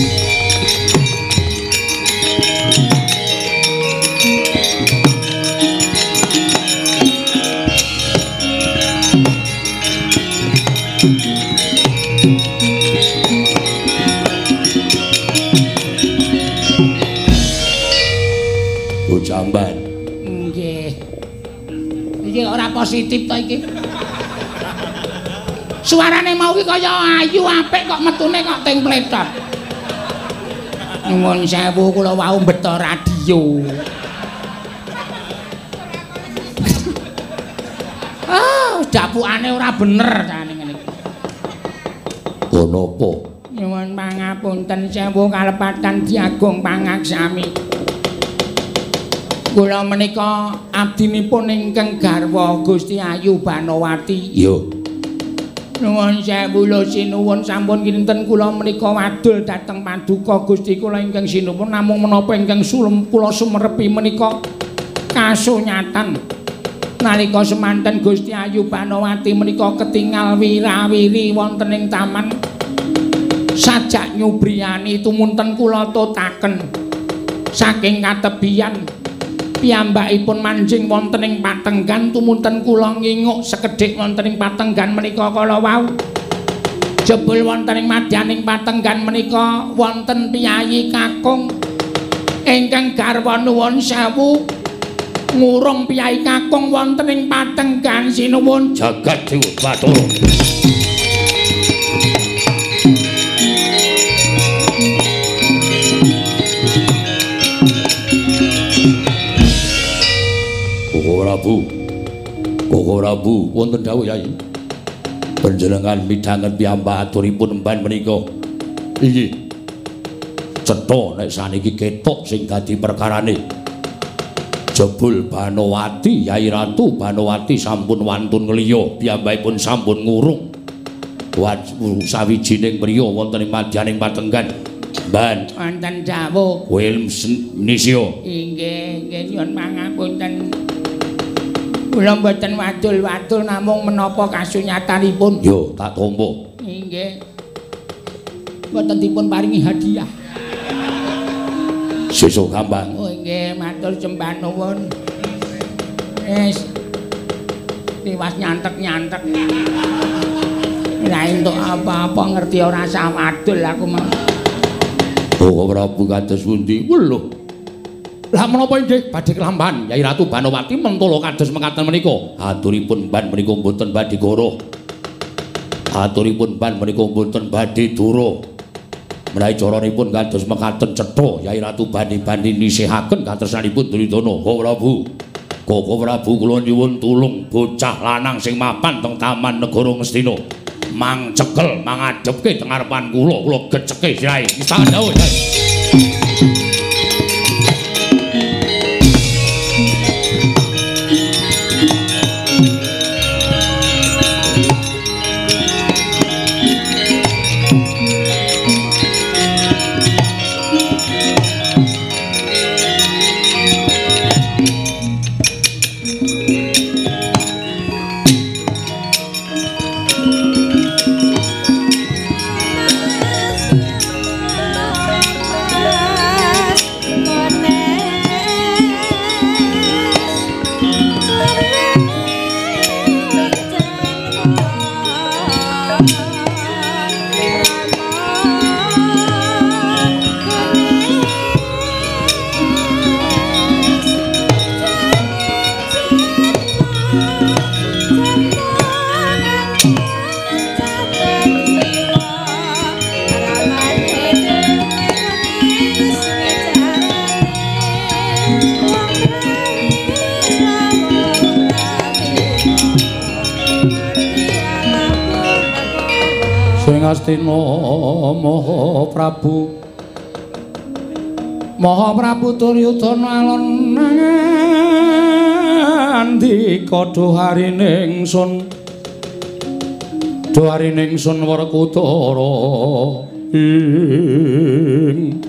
Jamban. Nggih. Iki ora positif to iki. Suarane mau ki kaya ayu apik kok metune kok ting pletot. Nuwun sewu kula wau mbeta radio. Ah, dapukane ora bener jane ngene iki. Ono apa? Nyuwun pangapunten sewu kalepatan Diagung Pangaksami. Kula menika abdinipun ingkang garwa Gusti Ayu Banowati. Yo. Nuwun sewu lho sinuwun sampun kinten kula menika wadul dhateng paduka Gusti kula ingkang sinuwun namung menapa ingkang sulem kula sumerepi menika kasunyatan. Nalika semanten Gusti Ayu Banowati menika ketingal wirawiri wonten ing taman. Sajak nyubriyani tumunten kula totaken saking katebian piyambakipun manjing wonten ing patenggan tumunten kula nginguk sekedhik wonten ing patenggan menika kala wau jebul wonten ing madyaning patenggan menika wonten piyayi kakung ingkang garwa nuwun sewu ngurung piyayi kakung wonten ing patenggan sinuwun jagat dewa Bathara. Prabu, Koko Prabu, wonten dawuh Yai. Panjenengan midhanget piyambak aturipun emban menika. Inggih. Cetha nek saniki ketok sing dadi perkarane. Jebul Banowati, Yai Ratu Banowati sampun wantun ngliya, piyambakipun sampun ngurung. Sawijining priya wonten ing madyaning patenggan. Ban. Wonten dawuh. Wilmsen Nisya. Inggih, nggih nyuwun pangapunten. Kula mboten wadul-wadul namung menapa kasunyatanipun. Yo, tak tampa. Inggih. Mboten dipun paringi hadiah. Sesuk gampang. Oh nggih, matur sembah nuwun. Wis. Tiwas nyantek-nyantek. Ora entuk apa-apa ngerti ora sah wadul aku mah. Oh, Prabu kados pundi? Weluh. Lah menapa inggih badhe kelamban Yai Ratu Banowati mentolo kados mekaten menika. Aturipun ban menika mboten badhe goroh. Aturipun ban menika mboten badhe dura. Menawi caranipun kados mekaten cetha Yai Ratu bani-bani nisihaken katresnanipun Duryudana. Oh Prabu. Koko Prabu kula nyuwun tulung bocah lanang sing mapan teng taman negara Ngastina. Mang cekel mangadepke teng ngarepan kula, kula geceke sirahe. Istangan dawuh, Yai. Sing Astina Maha Prabu Maha Prabu Duryudana alon ngandika dhuharining sun dhuharining sun Werkudara ing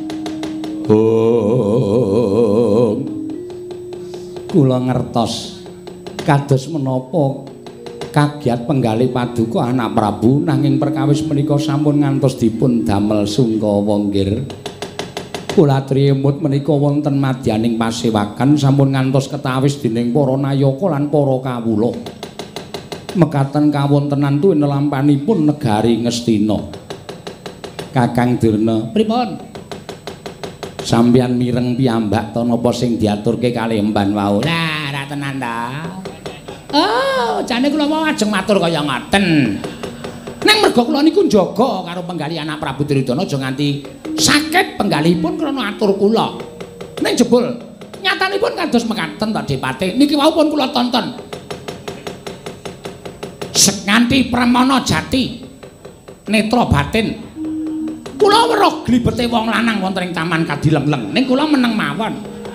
oh kula ngertos kados menapa kagiat penggalih paduka anak Prabu nanging perkawis menika sampun ngantos dipun damel sungkawa nggir kula triyemut menika wonten madyaning pasewakan sampun ngantos ketawis dening para nayaka lan para kawula mekaten kawontenan tuwin lampanipun negari Ngastina Kakang Durna pripun sampeyan mireng piyambak ta napa sing diaturke kalih emban wau lah ra tenan ta oh jane kula mau ajeng matur kaya ngoten nang merga kula niku njaga karo penggalih anak Prabu Duryudana aja nganti sakit penggalihipun krana atur kula. Ning jebul nyatanipun kados mekaten ta Dipati. Niki wau pun kula tonton. Sekanthi pramana jati netra batin. Kula weruh glibete wong lanang wonten ing taman Kadilengleng. Ning kula meneng mawon.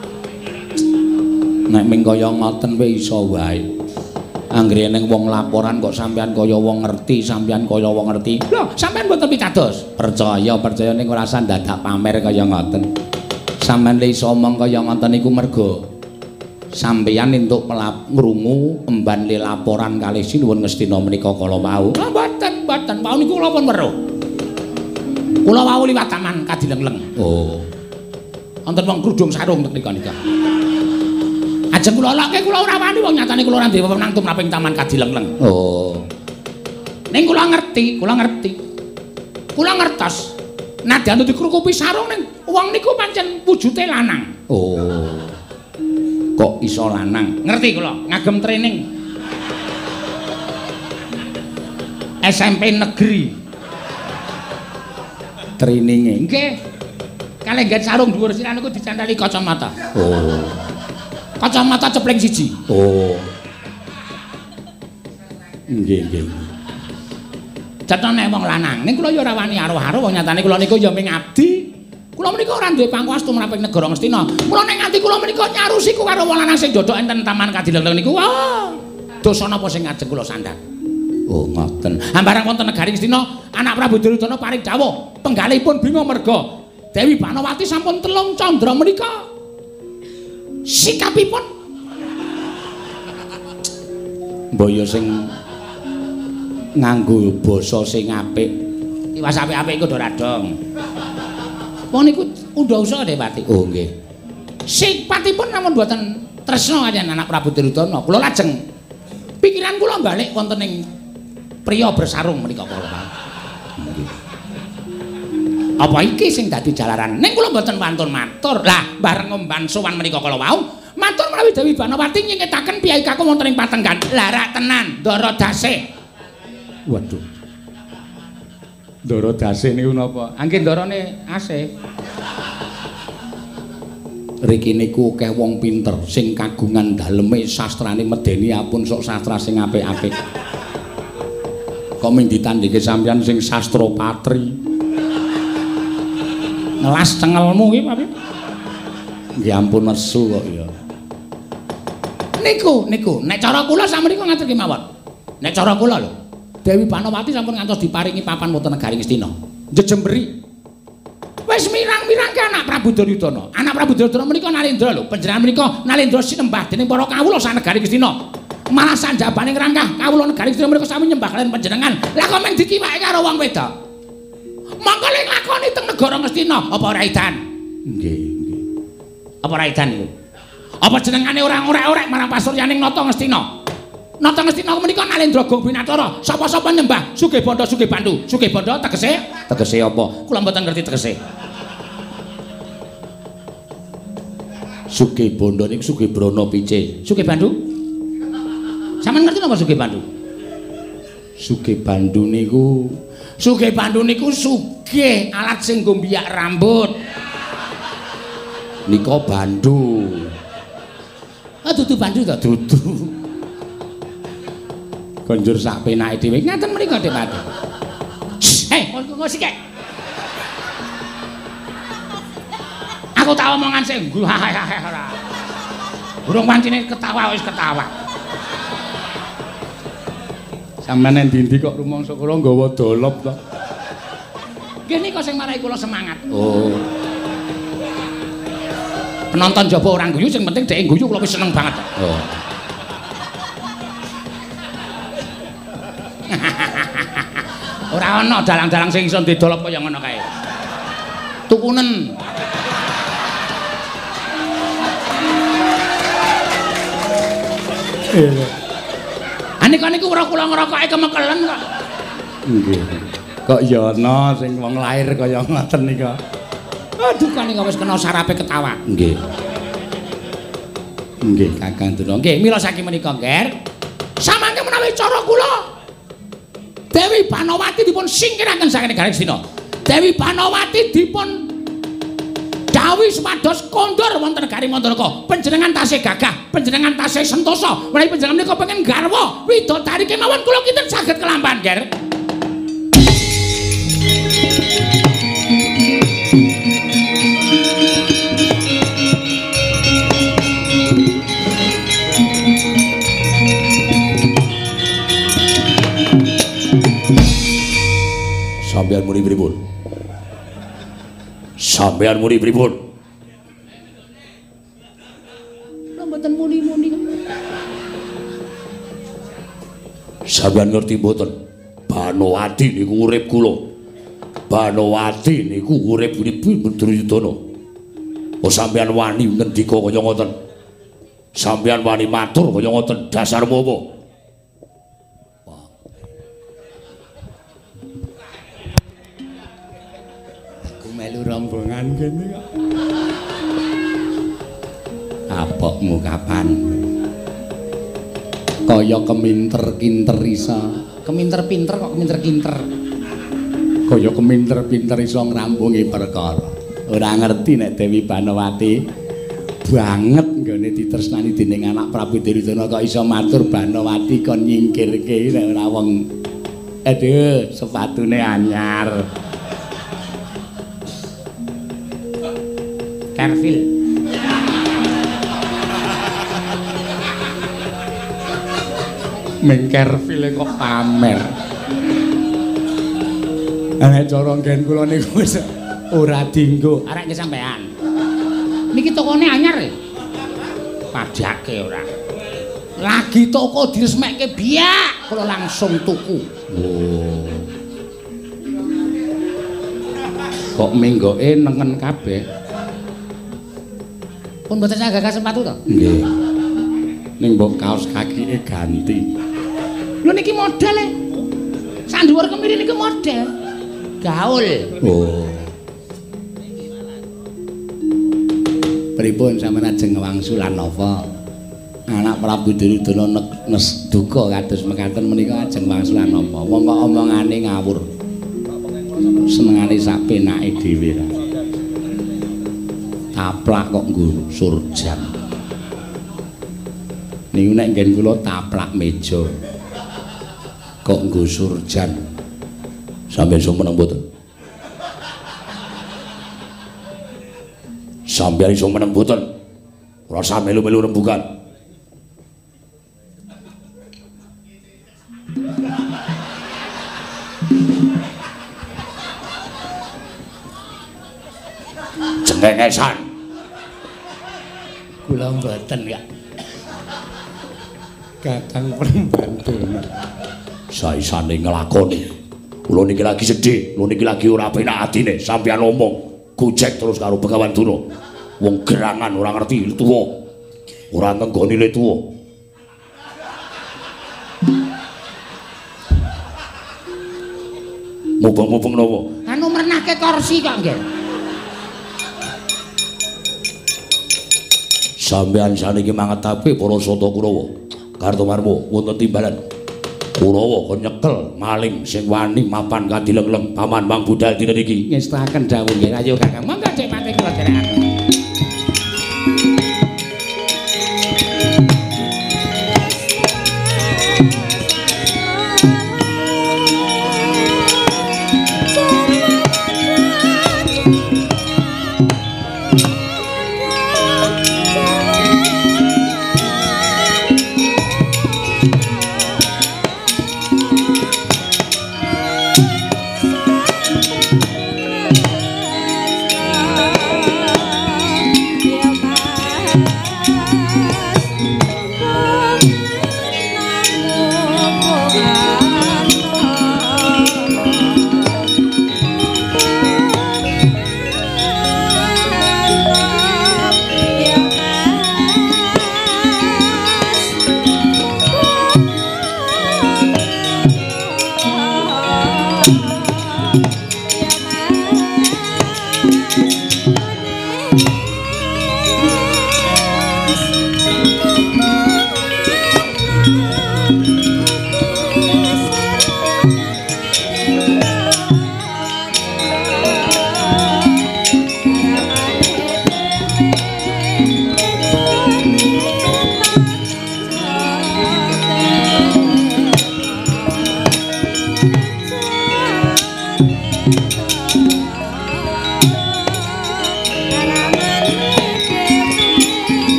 Nek ming kaya ngoten wae iso wae. Anggere ning wong laporan kok sampean kaya wong ngerti, sampean kaya wong ngerti. Lho, sampean mboten pitados. Percaya, percaya ning ora usah dadak pamer kaya ngoten. Sampeyan le iso omong kaya ngoten niku merga sampeyan entuk melap ngrungu emban le laporan kalih Sinuwun Ngastina menika kala wau. Ah, mboten, mboten. Wau niku kula pun weruh. Kula wau liwat taman Kadilengleng. Oh. Wonten wong grudung sarung tek nika. Ajeng kula lokke kula ora wani wong nyatane kula ora duwe wewenang tumraping taman Kadilengleng. Oh. Ning kula ngerti, kula ngerti. Kula ngertos. Nadyan dikrukupi sarung ning wong niku pancen wujude lanang. Oh. Kok iso lanang? Ngerti kula, ngagem training. S M P negeri. Traininge. Nggih. Kalih ngget sarung dhuwur siran niku dicantali kacamata. Oh. Kacamata cepleng siji. Oh. Nggih, nggih. Cetone wong lanang. Ning kula ya ora wani aruh-aruh wong nyatane kula niku ya ming abdi. Kula menika ora duwe pangkuas tumraping negara Ngastina. Mula ning ati kula menika nyarusiku karo wong lanang sing dodok enten taman Kadilengleng niku. Wah. Dosa napa sing ngajeng kula sandhang? Oh, ngoten. Ambarang wonten negari Ngastina, anak Prabu Duryudana paring dawuh, penggalihipun bingung merga Dewi Banawati sampun telung candra menika. Sikapipun mbaya sing nganggo basa sing apik tiwas apik-apik iku do radong wong niku undha usaha Depati. Oh nggih sikapipun namun mboten tresna kaliyan anak Prabu Duryudana. Kula lajeng pikiran kula balik wonten ing priya bersarung menika kala nggih. Apa iki sing dadi jalaran? Ning kula mboten wantun matur. Lah, bareng ngomban sowan menika kala wau, matur menawi Dewi Banawati nyengketaken piyai kakung wonten ing Patenggan. Lah ra tenan, Ndara Dasih. Waduh. Ndara Dasih niku napa? Angge ndarane asih. Riki niku akeh wong pinter sing kagungan daleme sastrane medeni apun sok sastra sing apik-apik. Kok ming ditandhike sampeyan sing sastra patri. Ngelas cengelmu iki Pak. Nggih ampun nesu kok ya. Niku niku nek cara kula sampeyan ngatur kemawon. Nek cara kula lho, Dewi Banawati sampun ngantos diparingi papan wonten negari Ngastina. Jejemberi. Wis mirang-mirang ke anak Prabu Duryudana. Anak Prabu Duryudana menika Nalendra lho. Panjenengan menika Nalendra sinembah dening para kawula sak negari Ngastina. Malah sanjabane ngrangkah kawula negari Ngastina menika sami nyembah kaliyan panjenengan. Lah kok men dikiwake karo wong wedok? Mangko lek lakoni teng negara Ngastina apa ora edan? Nggih, nggih. Apa ora edan niku? Apa jenengane ora orek-orek marang pasuryaning Nata Ngastina? Nata Ngastina menika Nalendra Gong Binatara. Sapa-sapa nyembah Sugih Banda Sugih Bandu. Sugih Banda tegese? Tegese apa? Kula mboten ngerti tegese. Sugih Banda niku Sugih Brana pice. Sugih Bandu? Sampeyan ngerti napa Sugih Bandu? Sugih Bandu niku Sugih Bandu niku sugih alat sing nggo mbiyak rambut. Nika Bandu. Ah dudu Bandu ta? Dudu. Konjur sak penake dhewe. Ngaten mriko Depati. engko sik. Aku tak omongan sing ora. Burung pancine ketawa wis ketawa. Sampeyan ndi-ndi kok rumangsa kula nggawa dolop to. Nggih nika sing marai kula semangat. Oh. Penonton jaba orang guyu sing penting dhek guyu kula wis seneng banget. Oh. Ora ana dalang-dalang sing iso didolop kaya ngono kae. Tukunen. Anika niku ora kula ngrokoke kemekelen kok. Nggih. Kok ya ana sing wong lair kaya ngoten nika. Aduh kan nika wis kena sarape ketawa. Nggih. Nggih, Kakang Durna. Nggih, mila saking menika, Nger. Samangke menawi cara kula Dewi Banowati dipun singkiraken saking negari Astina. Dewi Banowati dipun dawuhi supados kondur wonten negari Mandalaka. Panjenengan tasih gagah, panjenengan tasih sentosa. Menawi panjenengan menika pengen garwa widodari kemawon kula kinten saged kelampan, Nger. Sampeyan muni pripun? Sampeyan muni pripun? Lha mboten muni-muni. Sampeyan ngerti mboten? Banowati niku urip kula. Banowati niku urip Prabu Duryudana. Oh sampeyan wani ngendika kaya ngoten. Sampeyan wani matur kaya ngoten dasarmu apa? Melu rombongan kene kok. Apokmu kapan? Kaya keminter-kinter isa. Keminter-pinter kok keminter-kinter. Kaya keminter-pinter isa ngrampungi perkara. Ora ngerti nek Dewi Banowati banget nggone ditresnani dening anak Prabu Duryudana kok iso matur Banowati kon nyingkirke nek ora wong. Aduh, sepatune anyar. Carville. Ming Carville kok pamer. Nek cara nggen kula niku wis ora dienggo. Arek nggih sampean. Niki tokone anyar e. Pajake ora. Lagi toko diresmekke biak, kula langsung tuku. Oh. Kok minggoke nengen kabeh. Pun mboten saged sepatu to? Nggih. Ning mbok kaos kakike ganti. Lho niki model e. Sak dhuwur kemiri niki model. Gaul. Oh. Pripun sampeyan ajeng wangsulan napa? Anak Prabu Duryudana nes duka kados mekaten menika ajeng wangsulan napa? Wong kok omongane ngawur. Senengane sak penake dhewe ra. Taplak kok nggo surjan. Niku nek nggen kula taplak meja. Kok nggo surjan. Sampeyan iso meneng mboten? Sampeyan iso meneng mboten? Ora usah melu-melu rembugan. Cengengesan. Kula mboten ya. Kakang pembantu. Saisane nglakoni. Kula niki lagi sedih, kula niki lagi ora penak atine. Sampeyan omong gojek terus karo Begawan Duna. Wong gerangan ora ngerti tuwa. Ora nenggoni le tuwa. Mubeng-mubeng napa? Anu mrenahke kursi kok nggih. Sampeyan saniki mangetake para Sata Kurawa. Kartomarmo wonten timbalan. Kurawa kon nyekel maling sing wani mapan kadilengleng paman Mang Budal dina niki. Ngestaken dawuh nggih. Ayo Kakang, monggo Dik Pati kula derekaken. So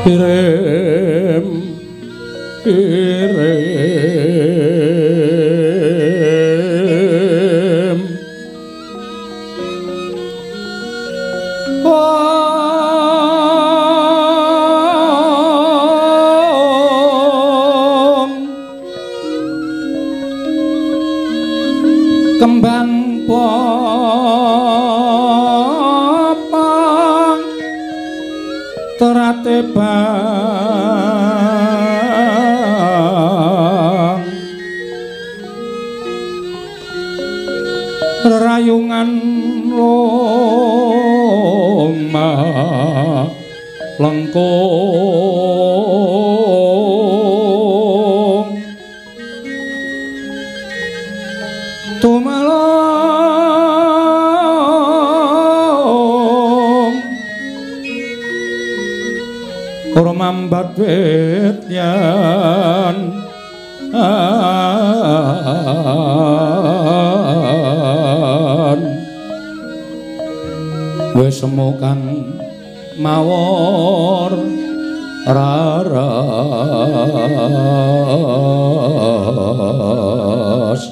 Kirim kirim om kembang popang terate bang rayungan Roma lengkung tumalong ora mambat wit yan wis semokan mawor raras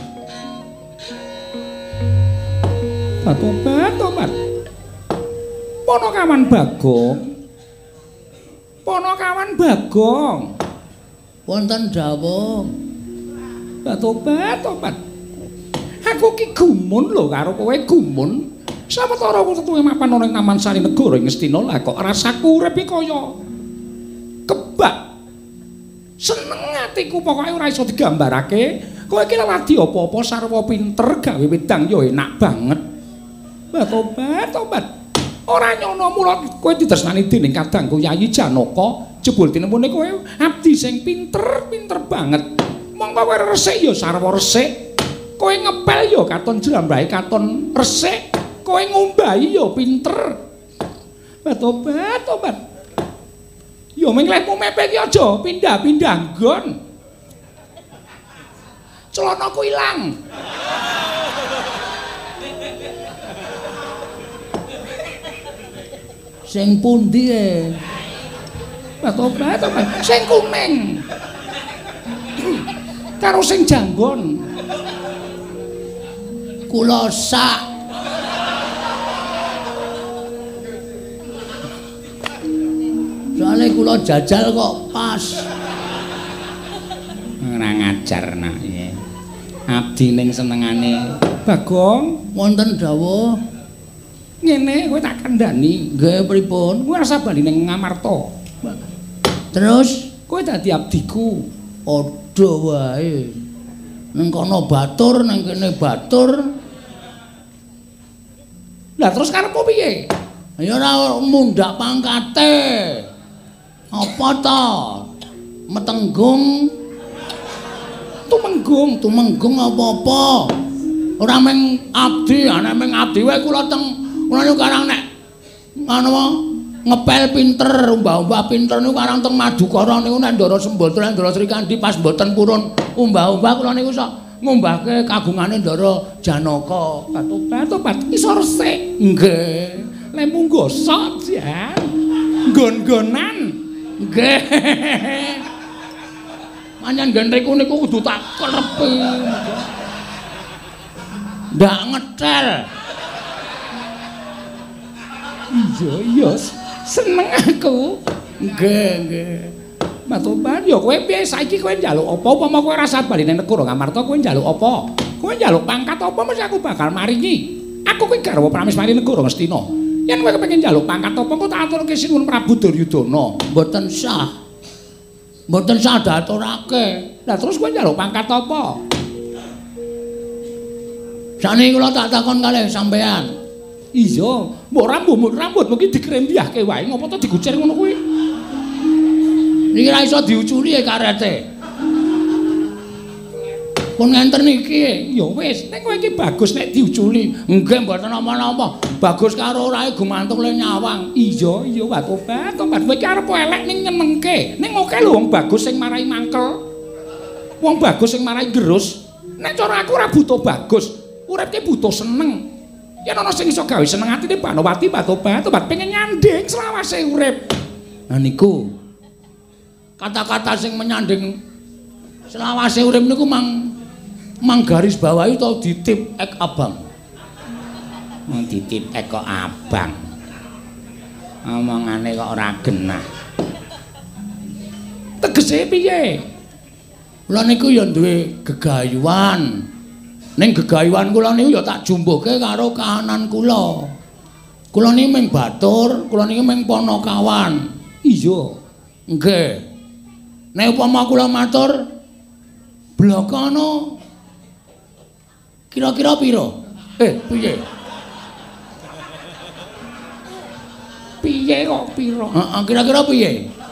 tobat tobat Ponokawan Bagong Ponokawan Bagong wonten dawuh tobat tobat aku ki gumun lho karo kowe gumun sawetara wetuhe mapan ana ing Taman Sari Negara ing Ngastina lah kok rasaku urip iki kaya kebak seneng atiku pokoke ora iso digambarake kowe iki lagi apa-apa sarwa pinter gawe wedang ya enak banget tobat tobat ora nyono mula kowe ditresnani dening kadangku Yayi Janaka jebul tinemune kowe abdi sing pinter-pinter banget mongko kowe resik ya sarwa resik kowe ngepel ya katon jlambahe katon resik kowe ngombahi ya pinter tobat tobat ya mengklehmu mepek ki aja pindah-pindah nggon celanaku ilang sing pundi e tobat tobat sing kuning karo sing janggon kula sak soalnya kula jajal kok pas ora ngajar nak ya abdi ning senengane Bagong wonten dawuh ngene kowe tak kandhani nggih pripun kowe ora bali ning Ngamarta terus kowe dadi abdiku padha wae ning kono batur ning kene batur lah terus karepmu piye ya ora mundak pangkate apa to metenggung tumenggung tumenggung apa-apa ora meng abdi ana meng abdi wae kula teng kula niku karang nek anu ngepel pinter umbah-umbah pinter niku karang teng Madukara niku nek Ndara Sembatra Ndara Srikandi pas mboten purun umbah-umbah kula niku sok ngumbahke kagungane Ndara Janaka tobat-tobat iso resik nggih lek munggo sok jan nggon-nggonan nggih manyan gentriku niku kudu tak klepi ndak ngetel iya iya seneng aku nggih nggih matoban ya kowe piye saiki kowe njaluk apa upama kowe rasa bali nang negara Ngamarta kowe njaluk apa kowe njaluk pangkat apa mesti aku bakal maringi aku kuwi garwa Prameswari negara Ngastina yen kowe kepengin njaluk pangkat apa kok tak aturke sinuwun Prabu Duryudana mboten sah mboten sah diaturake lah terus kowe njaluk pangkat apa sakniki kula tak takon kalih sampean iya mbok rambut rambut mungkin dikrembiahke wae ngopo to digucer ngono kuwi niki ra iso diuculi karete pun ngenter niki ya wis nek kowe iki bagus nek diuculi nggih mboten apa-apa bagus karo orae gumantung le nyawang iya iya wae tobat tobat kowe iki arep elek ning nyenengke ning oke lho wong bagus sing marai mangkel wong bagus sing marai gerus nek cara aku ora butuh bagus urip ki butuh seneng yen ana sing iso gawe seneng atine Banowati tobat tobat pengen nyanding selawase urip Nah niku kata-kata sing menyanding selawase urip niku mang mang garis bawahi to ditip ek abang. Mang ditip ek kok abang. Omongane kok ora genah. Tegese piye? Kula niku ya duwe gegayuhan. Ning gegayuhan kula niku ya tak jumbuhke karo kahanan kula. Kula niki mung batur, kula niki mung Panakawan. Iya. Nggih. Nek upama kula matur blakana kira-kira pira? Eh, piye? Piye kok pira? Heeh, kira-kira piye?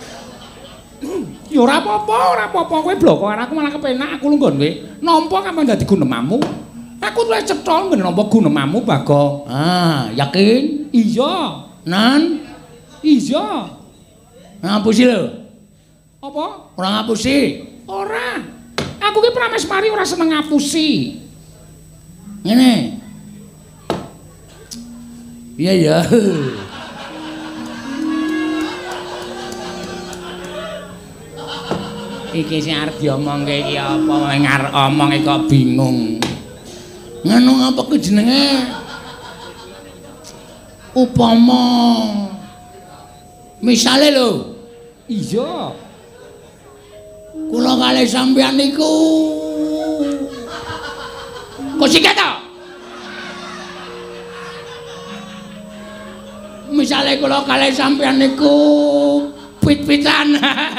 Ya ora apa-apa, ora apa-apa kowe bloko karo aku malah kepenak aku lungguh kowe. Nampa kapan dadi gunemamu? Aku luwih cetha ngene nampa gunemamu, Bago. Ah, yakin? Iya. Nan? Iya. Ngapusi lho. Apa? Ora ngapusi. Ora. Aku ki prameswari ora seneng ngapusi. Ngene. Iya ya. Iki sing arep diomongke iki apa wae ngarep omong kok bingung. Ngono ngapa ku jenenge? Upama misale lho. Iya. Kula kalih sampeyan niku kok sik to? Misale kula kalih sampeyan niku pit-pitan.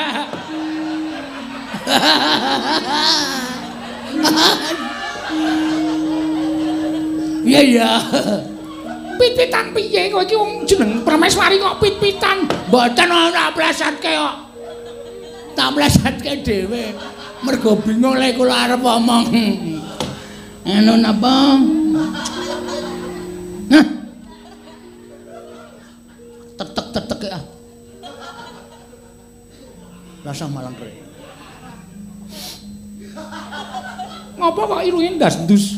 Iya iya. Pit-pitan piye kowe iki wong jeneng prameswari kok pit-pitan? Mboten ora plesatke kok. Tak plesatke dhewe. Mergo bingung lek kula arep omong. Anu napa? Nah. Tetek-tetek ya. Rasa malang rek. Ngapa kok irunge ndas-ndus?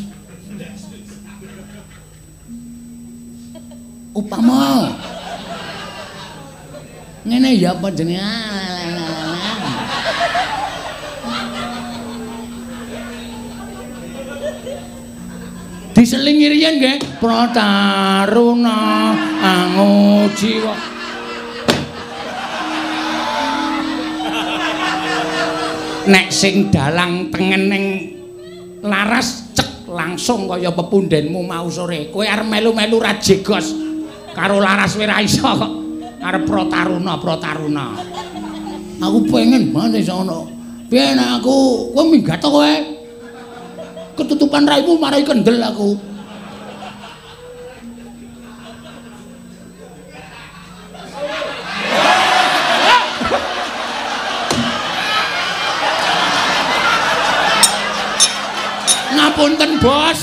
Upama ngene ya apa jenenge? Diselingi riyen nggih, Prataruna angujiwa. Nek sing dalang tengening laras cek langsung kaya pepundhenmu mau sore. Kowe arep melu-melu ra jegos karo laras kowe ra iso kok. Arep Prataruna, Prataruna. Aku pengen banget iso ono. Piye nek aku kowe minggat to kowe? Ketutupan raimu marai kendel aku. Ngapunten, Bos.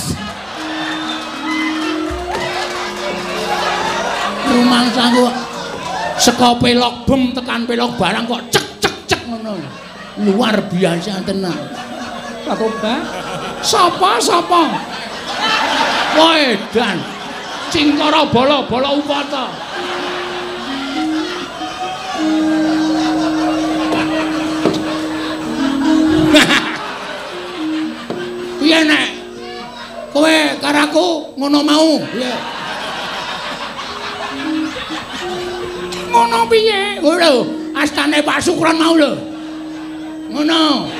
Rumangsaku saka pelok bem tekan pelok barang kok cek cek cek ngono. Luar biasa tenan. Pak Toba. Sapa sapa? Woe dan Cingkara bala bala upata. Piye nek kowe karo aku ngono mau? Piye? Ngono piye? Lho, astane Pak Sukron mau lho. Ngono.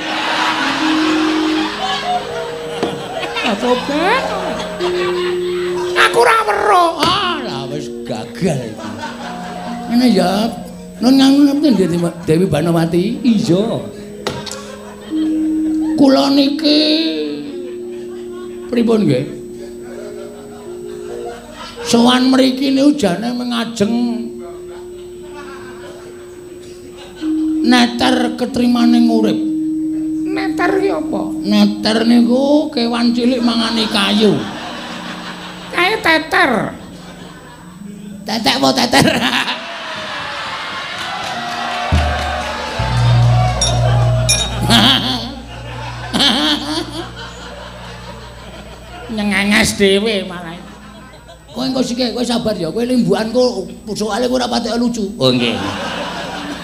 Sobat. Aku ora weruh. Ah, lah wis gagal iki. Ngene ya. Nun ngapunten Dewi Banowati. Iya. Kula niki pripun nggih? Sowan mriki niku jane mengajeng neter ketrimaning urip. Neter ki apa? Neter niku kewan cilik mangani kayu. Kae teter. Tetek apa teter? Nyengenges dhewe malah. Kowe engko sik kowe sabar ya, kowe limbuanku soalé kowe ora patek lucu. Oh nggih.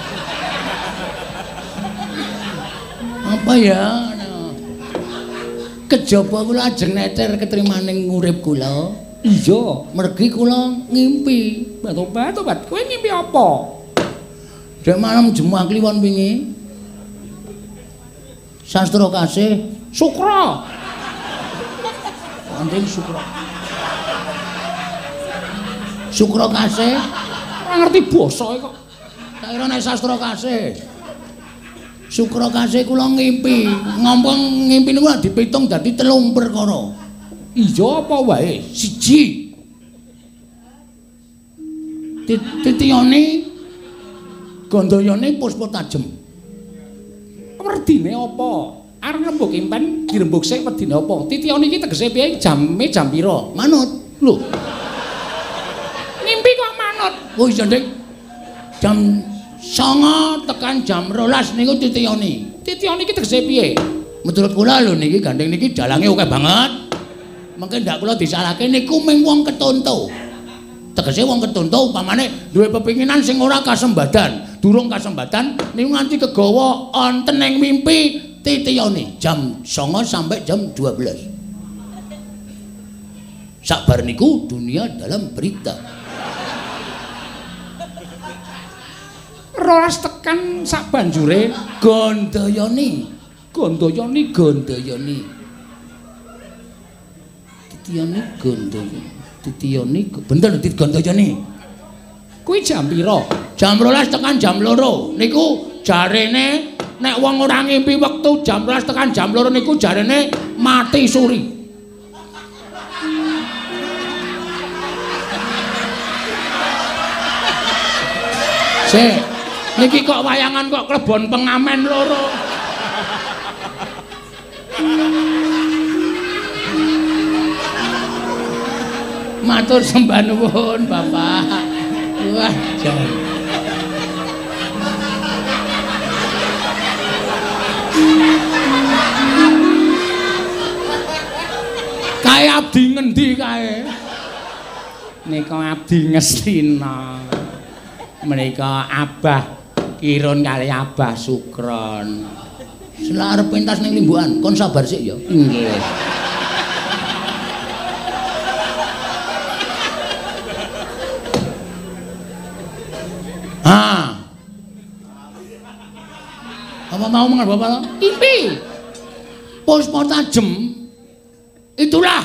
Apa ya? Kejaba kula ajeng neter ketrimaning urip kula. Iya, mergi kula ngimpi. Tobat, tobat. Kowe ngimpi apa? Dek malam jemuah kliwon wingi. Sastra kasih Sukra. Andeng Sukra. Sukra kasih. Ora ngerti basa kok. Tak kira nek sastra kasih. Sukra kasih kula ngimpi. Ngompong ngimpi niku dipitung dadi telung perkara. Iya apa wae? Siji. Titiyane gandayane puspa tajem. Werdine apa? Arep rembug impen dirembug sik wedine apa? Titiyane iki tegese piye? Jame jam pira? Manut. Lho. Ngimpi kok manut. Oh iya, Dik. Jam songo tekan jam rolas niku titiyane. Titiyane iki tegese piye? Menurut kula lho niki gandeng niki dalange akeh banget. Mengke ndak kula disalahke niku mung wong ketonto. Tegese wong ketonto upamane duwe pepinginan sing ora kasembadan, durung kasembadan niku nganti kegawa onten ing mimpi titiyane jam songo sampai jam dua belas. Sabar niku dunia dalam berita. Rolas tekan sak banjure gandayane, gandayane gandayane. Titiyane gandayane. Titiyane bener digandayane. Kuwi jam pira? Jam rolas tekan jam loro. Niku jarene nek wong ora ngimpi wektu jam rolas tekan jam loro niku jarene mati suri. Sik, niki kok wayangan kok klebon pengamen loro. Matur sembah nuwun, Bapak. Wah, jan. Kae abdi ngendi kae? Nika abdi Ngestina. Menika Abah Kirun kali Abah Sukron. Sela arep pentas ning Limbukan, kon sabar sik ya. Nggih. Ah. Apa mau mengal Bapak? Impi. Puspa tajem. Itulah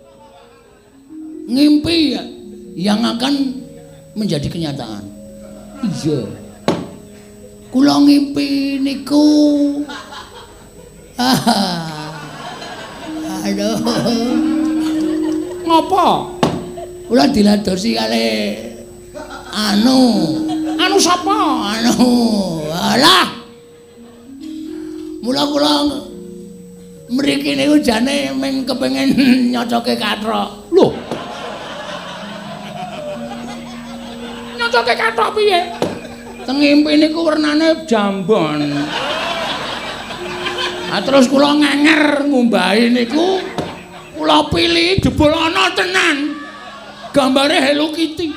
ngimpi yang akan menjadi kenyataan. Iya. Kula ngimpi niku. Aduh. Ngopo? Kula diladosi kali anu. Anu sapa? Anu. Alah. Mula kula mriki niku jane mung kepengin nyocoke kathok. Lho. Nyocoke kathok piye? Teng ngimpi niku wernane jambon. Ah terus kula ngenger ngumbahi niku kula pilih jebul ana tenan. Gambare Hello Kitty.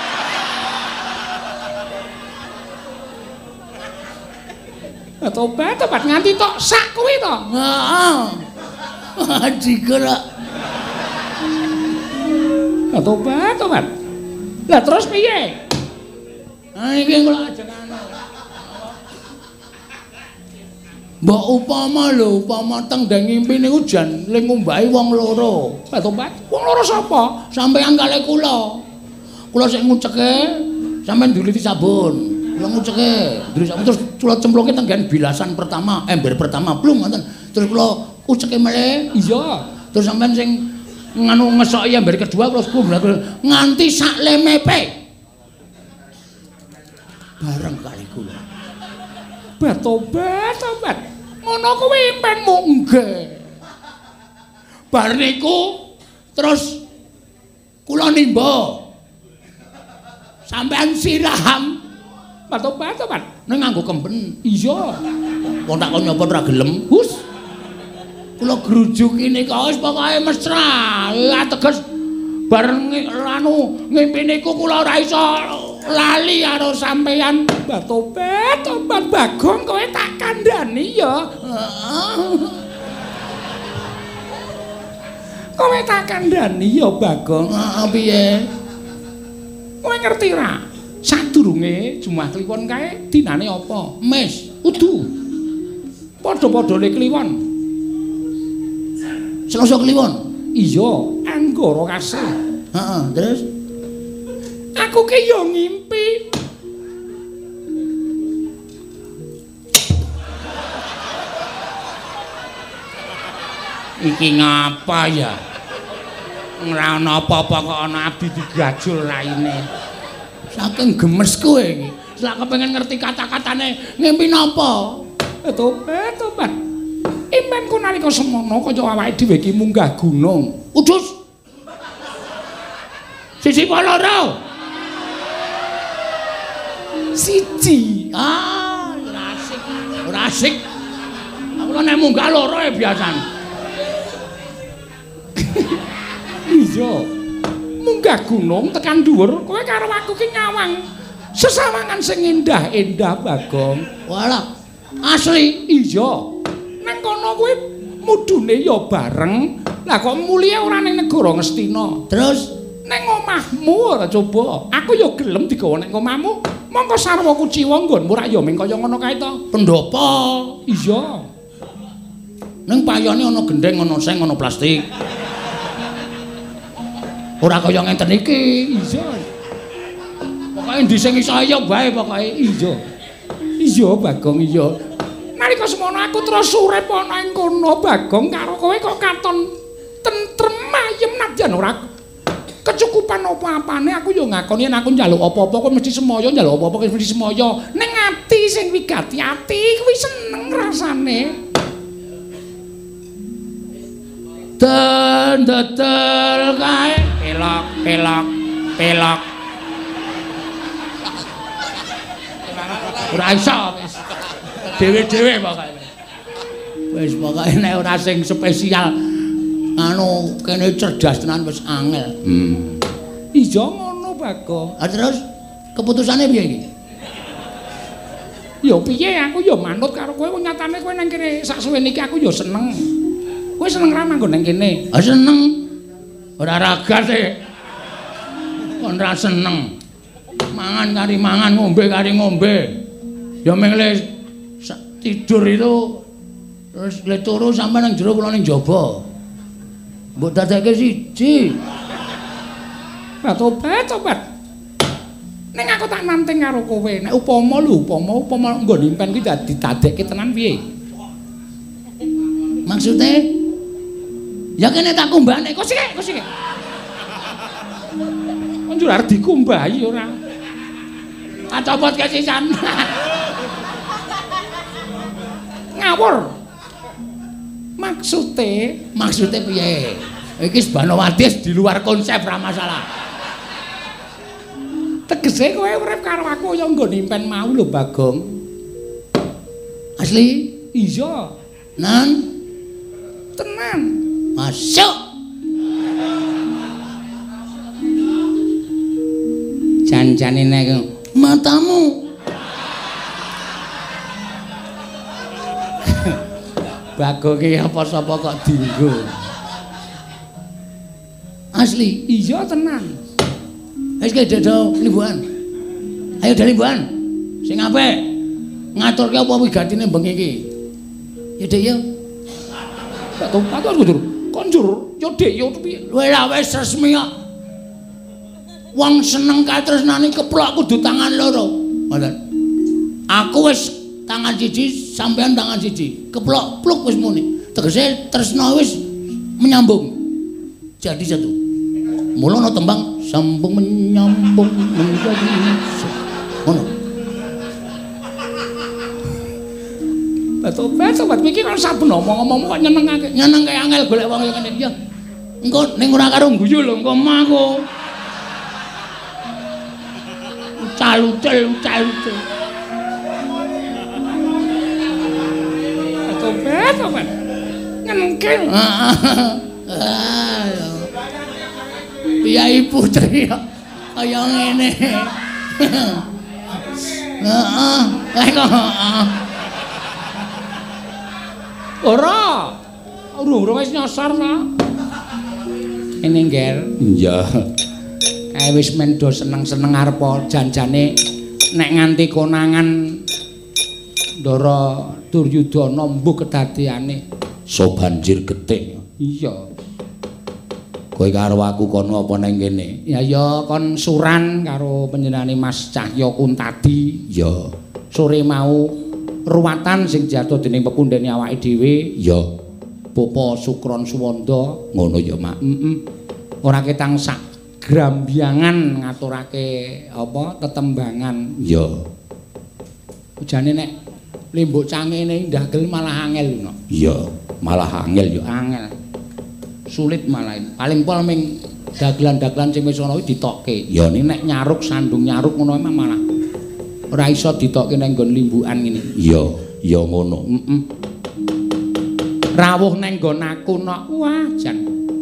Tobat, tobat nganti tok sak kuwi to. Heeh. Digera. Tobat, tobat. Lah terus piye? Ah iki kula ajeng anu. Mbok upama lho, upama teng ndang ngimpi niku jan ling ngumbahi wong loro. Tobat. Wong loro sapa? Sampeyan kalih kula. Kula sik nguceke, sampeyan nduliti sabun. Kula nguceke, terus kula cemplungke teng bilasan pertama, ember pertama, blung ngoten. Terus kula uceke meleh. Iya. Terus sampean sing nganu ngesoki ember kedua kula kumbrak nganti sak lemepe. Bareng kali kula. Batobat, tobat. Ngono kuwi impenmu nggih. Bar niku terus kula nimba. Sampean siram. Tobat, tobat. Ning nganggo kemben. Iya. Wong tak kon nyapa ora gelem. Hus. Kula grujuki nika wis pokoke mesra. Ateges bareng anu ngimpi niku kula ora iso lali karo sampeyan. Mbah tobat, tobat Bagong kowe tak kandhani ya. Kowe tak kandhani ya Bagong. Heeh piye? Kowe ngerti ra? Sadurunge Jumat Kliwon kae dinane apa? Mes, udu. Padha-padhane kliwon. Selasa kliwon. Iya, Anggara Kasih. Heeh, terus aku ki yo ngimpi. Iki ngapa ya? Ora ana apa-apa kok ana abdi digajul raine. Saking gemes kowe iki. Lah kepengin ngerti kata-katane ngimpi napa? Tobat, tobat. Imanku nalika semono kaya awake dhewe iki munggah gunung. Udus. Siji apa loro? Siji. Ah, ora asik. Ora asik. Aku nek munggah loro ya biasan. Iya. Munggah gunung tekan dhuwur, kowe karo aku ki nyawang. Sesawangan sing endah-endah Bagong. Walah, asli iya. Nang kono kuwi mudune ya bareng. Lah kok mulihe ora ning negara Ngastina. Terus ning omahmu ora coba. Aku ya gelem digawa ning omahmu. Mongko sarwa kuciwa nggonmu rak ya ming kaya ngono kae to. Pendopo. Iya. Ning payone ana gendeng, ana seng, ana plastik. Ora kaya ngenten iki. Iya. Pokoke ndi sing iso ya bae pokoke. Iya. Iya Bagong iya. Nalika semono aku terus urip ana ing kono Bagong karo kowe kok katon tentrem ayem nadyan ora kecukupan apa-apane aku yo ngakoni yen aku njaluk apa-apa kok mesti semoyo njaluk apa-apa kok mesti semoyo. Ning ati sing wigati ati kuwi seneng rasane. Den dodol kae pelok pelok pelok. Ora iso wis. Dewe-dewe pokoke. Wis pokoke nek ora sing spesial anu kene cerdas tenan wis angel. Hmm. Iya ngono Bagong. Ah terus keputusane piye iki? Ya piye aku ya manut karo kowe wong nyatane kowe nang kene sak suwene iki aku ya seneng. Kowe seneng ra manggon nang kene? Ah seneng. Ora ragas e. Kon ra seneng. Mangan kari mangan, ngombe kari ngombe. Ya mung le tidur itu terus le turu sampe nang jero kula ning jaba. Mbok dadekke siji. Lah tobat, tobat. Ning aku tak nanting karo kowe. Nek upama lho, upama upama nggon impen ki dadi dadekke tenan piye? Maksudnya ya kene tak kumbane, kok sik, kok sik. Konjur arep dikumbahi ora. Tak copot kesisan. Ngawur. Maksude, maksude piye? Iki Banowati di luar konsep ra masalah. Tegese kowe urip karo aku ya nggon impen mau lho Bagong. Asli? Iya. Nan tenan. Masuk. Jan-jane nek matamu. Bagong iki apa sapa kok dienggo. Asli, iya tenan. Wis ke dodo limbuhan. Ayo dari limbuhan. Sing apik. Ngaturke apa wigatine bengi iki. Ya Dik ya. Tak tau tak konjur. Konjur ya Dik ya piye. Lha lah wis resmi kok. Wong seneng katresnane keplok kudu tangan loro. Ngoten. Aku wis tangan siji sampean tangan siji. Keplok pluk wis muni. Tegese tresna wis menyambung. Jadi satu. Mula ana tembang sambung menyambung menjadi ngono. Tobat sobat iki kok saben omong-omong kok nyenengake. Nyenengke angel golek wong kaya ngene ya. Engko ning ora karo guyu lho engko mangko. Ucal-ucal ucal-ucal. Tobat sobat. Nyenengke. Piyai putri kaya ngene. Heeh. Eh kok heeh. Ora. Urung-urung wis nyosor ta. Ini ngger. Iya. Kae wis men do seneng-seneng arep janjane nek nganti konangan Ndara Duryudana mbuh kedadiane so banjir getik. Iya. Kowe karo aku kono apa nang kene? Ya ya kon suran karo panjenengane Mas Cahya Kuntadi. Ya. Sore mau ruwatan sing jatuh dening pepundhene awake dhewe. Ya. Bapa Sukron Suwanda. Ngono ya, Mak. Heeh. Ora ketang sak grambyangan ngaturake apa tetembangan. Ya. Ujane nek limbuk cangene ndagel malah angel no. Iya, malah angel ya. Angel. Sulit malah. Paling pol ming dagelan-dagelan sing wis ana kuwi ditokke. Ya ini nek nyaruk sandung nyaruk ngono emang malah ora iso ditokke nang nggon limbukan ngene. Iya, ya ngono. Heeh. Rawuh nang nggon aku nok. Wah, jan.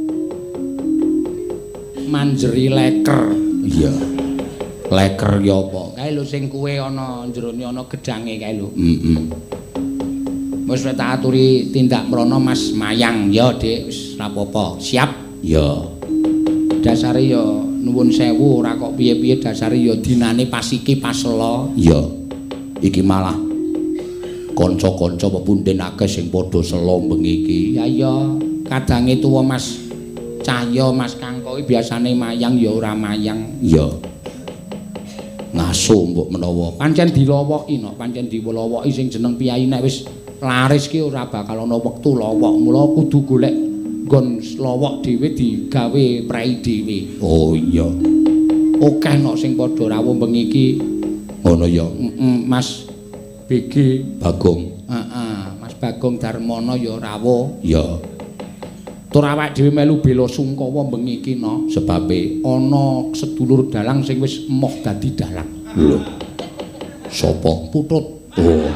Manjeri leker. Iya. Leker ya apa? Kae lho sing kuwe ana jerone ana gedhange kae lho. Heeh. Wis tak aturi tindak mrono Mas Mayang. Ya, Dik, wis ora apa-apa. Siap? Ya. Dasare ya nuwun sewu ora kok piye-piye dasare ya dinane pas iki pas ela. Ya. Iki malah kanca-kanca pepundhen akeh sing padha sela bengi iki. Ya iya, kadange tuwa Mas Cahya, Mas Kangko iki biasane mayang ya ora mayang. Ya. Ngaso mbok menawa Pancen dilowoki no, pancen dilowoki sing jeneng piyai nek wis laris ki ora bakal ana wektu lowok. Mula kudu golek nggon lowok dhewe digawe prei dhewe. Oh iya. Akeh no sing padha rawuh bengi iki. Ngono ya. Heeh, Mas B G Bagong. Heeh, Mas Bagong Darmono ya rawuh. Ya. Tur awake dhewe melu bela sungkawa bengi iki no, sebabe ana sedulur dalang sing wis emoh dadi dalang. Lho. Sapa? Putut. Oh.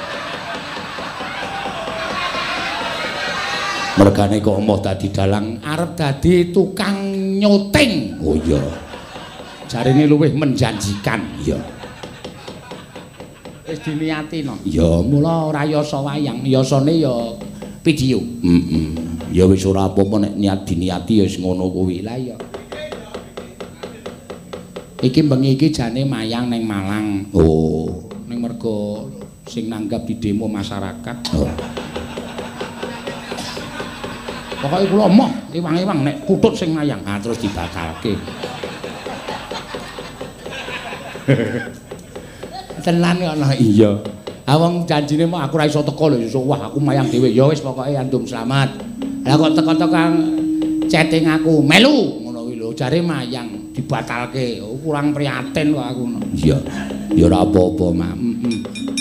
Mergane kok emoh dadi dalang Arep dadi tukang nyuting. Oh iya. Jarine luwih menjanjikan. Iya. Wis diniati no. Ya, Mula ora yasa wayang, yasane ya video. heeh. Ya wis ora apa-apa nek niat diniati ya wis ngono kuwi. Lah iya. Iki bengi iki jane mayang ning Malang. Oh, Ning mergo sing nanggap di demo masyarakat. oh. Pokoke kula emoh iwang-iwang nek putut sing mayang, ah terus dibatalke. Tenan kok ana iya. Ah wong janjine mah aku ora iso teko lho, wah aku mayang dhewe. Ya wis pokoke andum selamat. Lah kok teko-teko chatting aku, melu ngono kuwi lho, jare mayang dibatalke. Oh, kurang prihatin kok aku. Iya. Ya ora apa-apa, Mak. Heeh.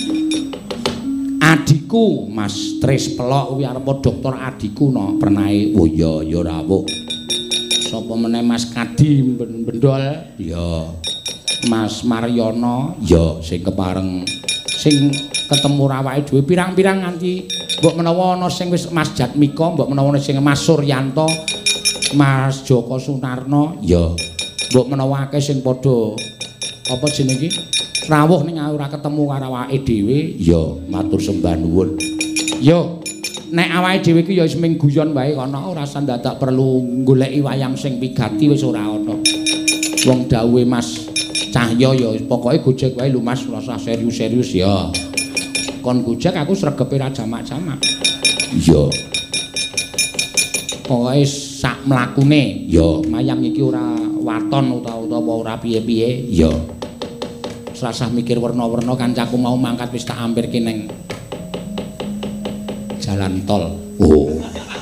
Adikku Mas Tris Pelok kuwi arep dokter adikku no, pernahe. Oh iya, ya rawuh. Sapa meneh Mas Kadi Bendol, Ya. Mas Maryono, Ya sing kepareng sing ketemu awake dhewe pirang-pirang nganti mbok menawa ana sing wis Mas Jatmika, mbok menawa ana sing Mas Suryanto, Mas Joko Sunarno, ya. mbok menawa akeh sing padha apa jenenge iki rawuh ning ora ketemu karo awake dhewe. Ya, matur sembah nuwun. Yo, nek awake dhewe iki ya wis ming guyon wae kono, ora usah dadak perlu goleki wayang sing pigati wis ora ana. Wong dawuhe Mas Cahya ya pokoke gojek wae lho Mas, ora usah serius-serius ya. Kon gojek aku sregepe ra jamak-jamak. Iya. Pokoke sak mlakune Ya, mayang iki ora waton utawa ora piye-piye. ya. Rasah mikir werna-werna kancaku mau mangkat wis tak ampirke ning jalan tol. Oh.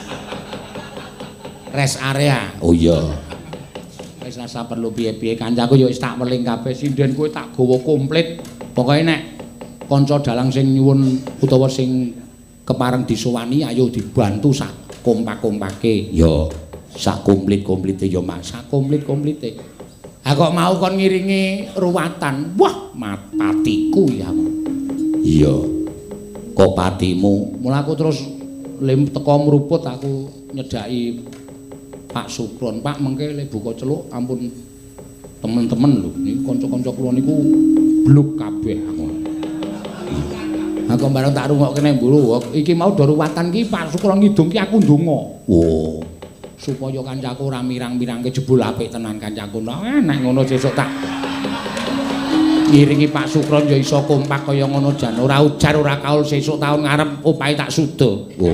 Rest area. Oh iya. Wis rasa perlu piye-piye kancaku ya wis tak weling kabeh sinden kowe tak gawa komplit. Pokoke nek kanca dalang sing nyuwun utawa sing kepareng disowani ayo dibantu sak kompak-kompake. Ya, sak komplit-komplite ya, Mas. Sak komplit-komplite. Ha kok mau kon ngiringi ruwatan. Wah, matiku ya. Iya. Kok patimu? Mula aku terus lim teko mruput aku nyedaki Pak Sukron. Pak mengke le buka celuk ampun Temen-temen lho, niku kanca-kanca kula niku bluk kabeh aku. Aku bareng tak rungokke nek mburu, iki mau do ruwatan ki Pak Sukra ngidung ki aku ndonga. Oh, supaya kancaku ora mirang-mirangke jebul apik tenan kancaku. Eh nek ngono sesuk tak ngiringi Pak Sukron ya iso kompak kaya ngono jan ora ujar ora kaul sesuk taun ngarep opahe tak suda. Oh.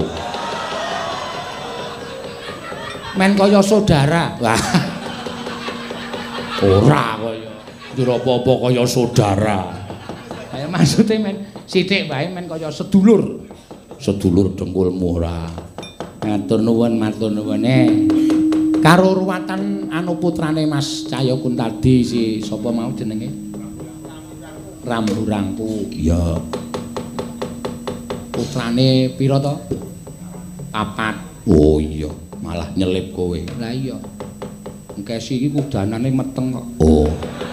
Men kaya saudara. Wah. Ora kaya njur apa-apa kaya saudara. Kaya maksude men sithik wae men kaya sedulur. Sedulur dengkulmu ora. Matur nuwun, matur nuwun. Eh. Karo ruwatan anu putrane Mas Cahya Kuntadi si sapa mau jenenge? Ramburangku. Iya. Putrane pira to? Papat. Oh iya, malah nyelip kowe. Lah iya. Engkesi iki kudanane meteng kok. Oh.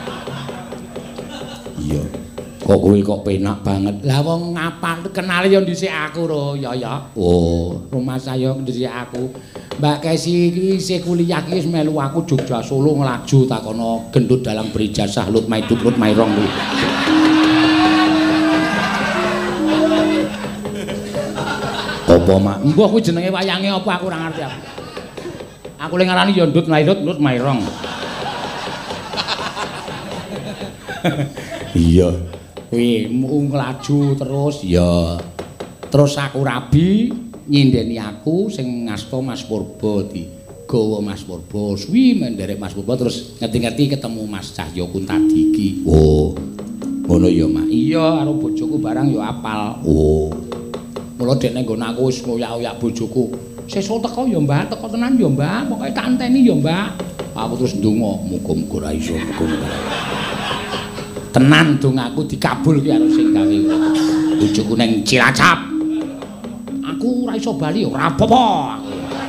Iya. Kok kowe kok penak banget. Lah wong ngapal kenal ya dhisik aku ro, ya ya. Oh, Rumah saya dhisik aku. Mbak Kesi iki isih kuliah iki wis melu aku Jogja Solo nglaju takono gendut dalang berijazah lut maiduk lut mairong kuwi. apa mak? Mbah kuwi jenenge wayange apa aku ora ngerti aku. Aku le ngarani ya ndut mairut lut mairong. Iya. Kuwi nglaju terus ya. Terus aku rabi nyindeni aku sing ngasta Mas Purba di gawa Mas Purba suwi menderek Mas Purba terus ngerti-ngerti ketemu Mas Cahya Kuntadi iki. Oh. Ngono ya, Mak. Iya, karo bojoku barang ya apal. Oh. Mula dek ning nggon aku wis ngoyak-oyak bojoku. Sesuk teko ya, Mbak, teko tenan ya, Mbak. Pokoke tak anteni ya, Mbak. Aku terus ndonga, muga-muga ra iso, muga-muga. Tenan dongaku dikabulke karo sing gawe. Bojoku ning Cilacap. Aku ora iso bali ora apa-apa aku.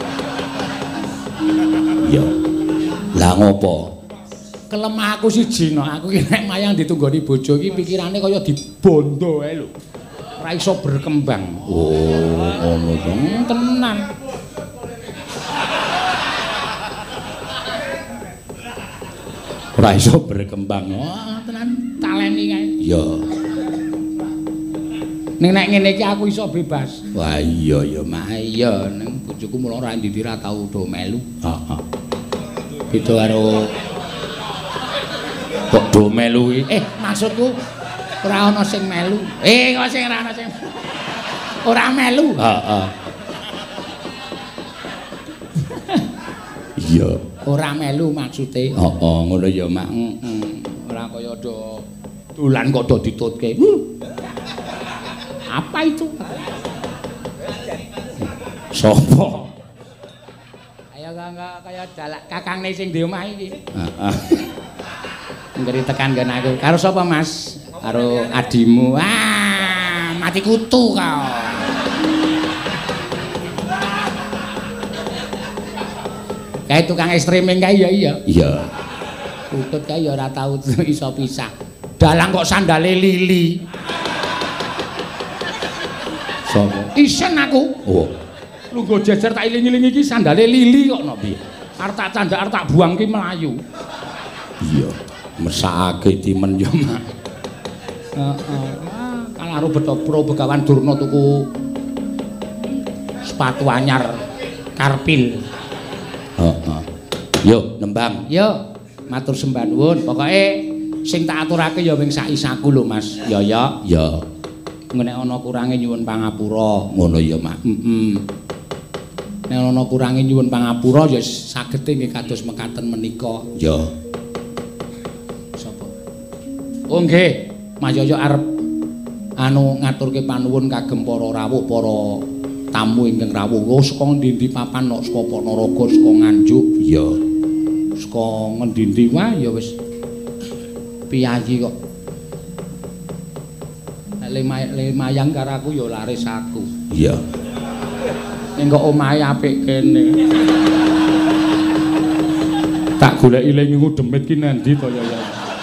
Iya. Lah ngopo? Kelemah aku siji no, aku ki nek mayang ditunggoni bojo iki pikirane kaya dibondo ae lho. Ora iso berkembang. Oh, ngono to. Hmm, tenan. Ora iso berkembang. Wah, tenan taleni kae. Iya. Ning nek ngene iki aku iso bebas. Wah, iya ya, Mak. Iya, ning bojoku mulo ora ndi ra tau do melu. Heeh. Beda karo Kok do melu iki? eh maksudku ora ana sing melu. Eh kok sing ora ana sing ora melu. Heeh. Iya. Ora melu maksude. Heeh, ngono ya, Mak. Heeh. Ora kaya do dolan kok do ditutke. Uh. Apa itu? Sopo? Kaya kaya kaya dalak kakangne sing di omah iki. Heeh. Ngeri tekan nggon aku. Karo sapa, Mas? Karo adimu. Ah, mati kutu kau. Kayak tukang streaming kae ya iya. Iya. Utut kae ya ora tau iso pisah. Dalang kok sandale lili. Sopo? Isen aku. Oh. Lungguh jejer tak iling-iling iki sandale lili kok no piye. Arep tak candak arep tak buang ki melayu. Iya. Mesakake timen yo, Mak. Heeh. Ah, karo Betapra Begawan Durna tuku sepatu anyar Karpil. Heeh. Yo, nembang. Yo, matur sembah nuwun. Pokoke sing tak aturake ya wing sak isaku lho, Mas. Ya ya. Ya. Nek ana kurange nyuwun pangapura. Ngono ya, Mak. Heeh. Nek ana kurange nyuwun pangapura ya sagete nggih kados mekaten menika. Ya. Sapa? Oh nggih, Mas Yoyo arep anu ngaturke panuwun kagem para rawuh, para tamu ingkang rawuh. Oh, saka ndi-ndi papan kok saka Ponorogo, saka Nganjuk. Ya. Saka ngendi-ndi wae ya wis piyayi kok. Nek le mayang karo aku ya laris aku. Iya. Ning kok omahe apik kene. Tak goleki le ngingu demit ki nendi to ya ya.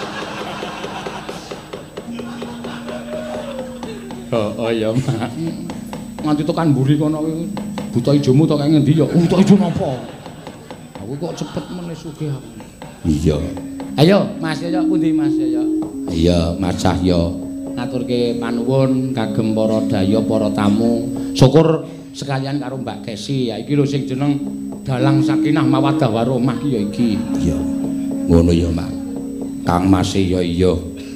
Oh ya, Mak. Nganti tekan mburi kono kuwi buta ijomu to kaya ngendi ya? Buta ijo napa? Aku kok cepet meneh sugih aku. Iya. Ayo, Mas ya pundi Mas ya. Iya, Mas Cahya. Ngaturke panuwun kagem para daya para tamu. Syukur sekalian karo Mbak Kesi ya iki lho sing jeneng Dalang Sakinah Mawaddah Warahmah ki ya iki. Iya. Ngono ya, Mak. Kang Mas ya iya.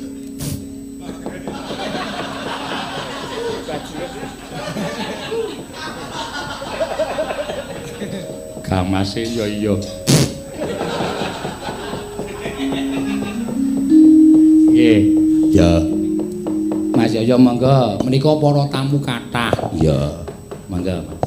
Kang Mas ya iya. Nggih. Ya. Mas Yoyo monggo menika para tamu kathah. Ya. Monggo Mas.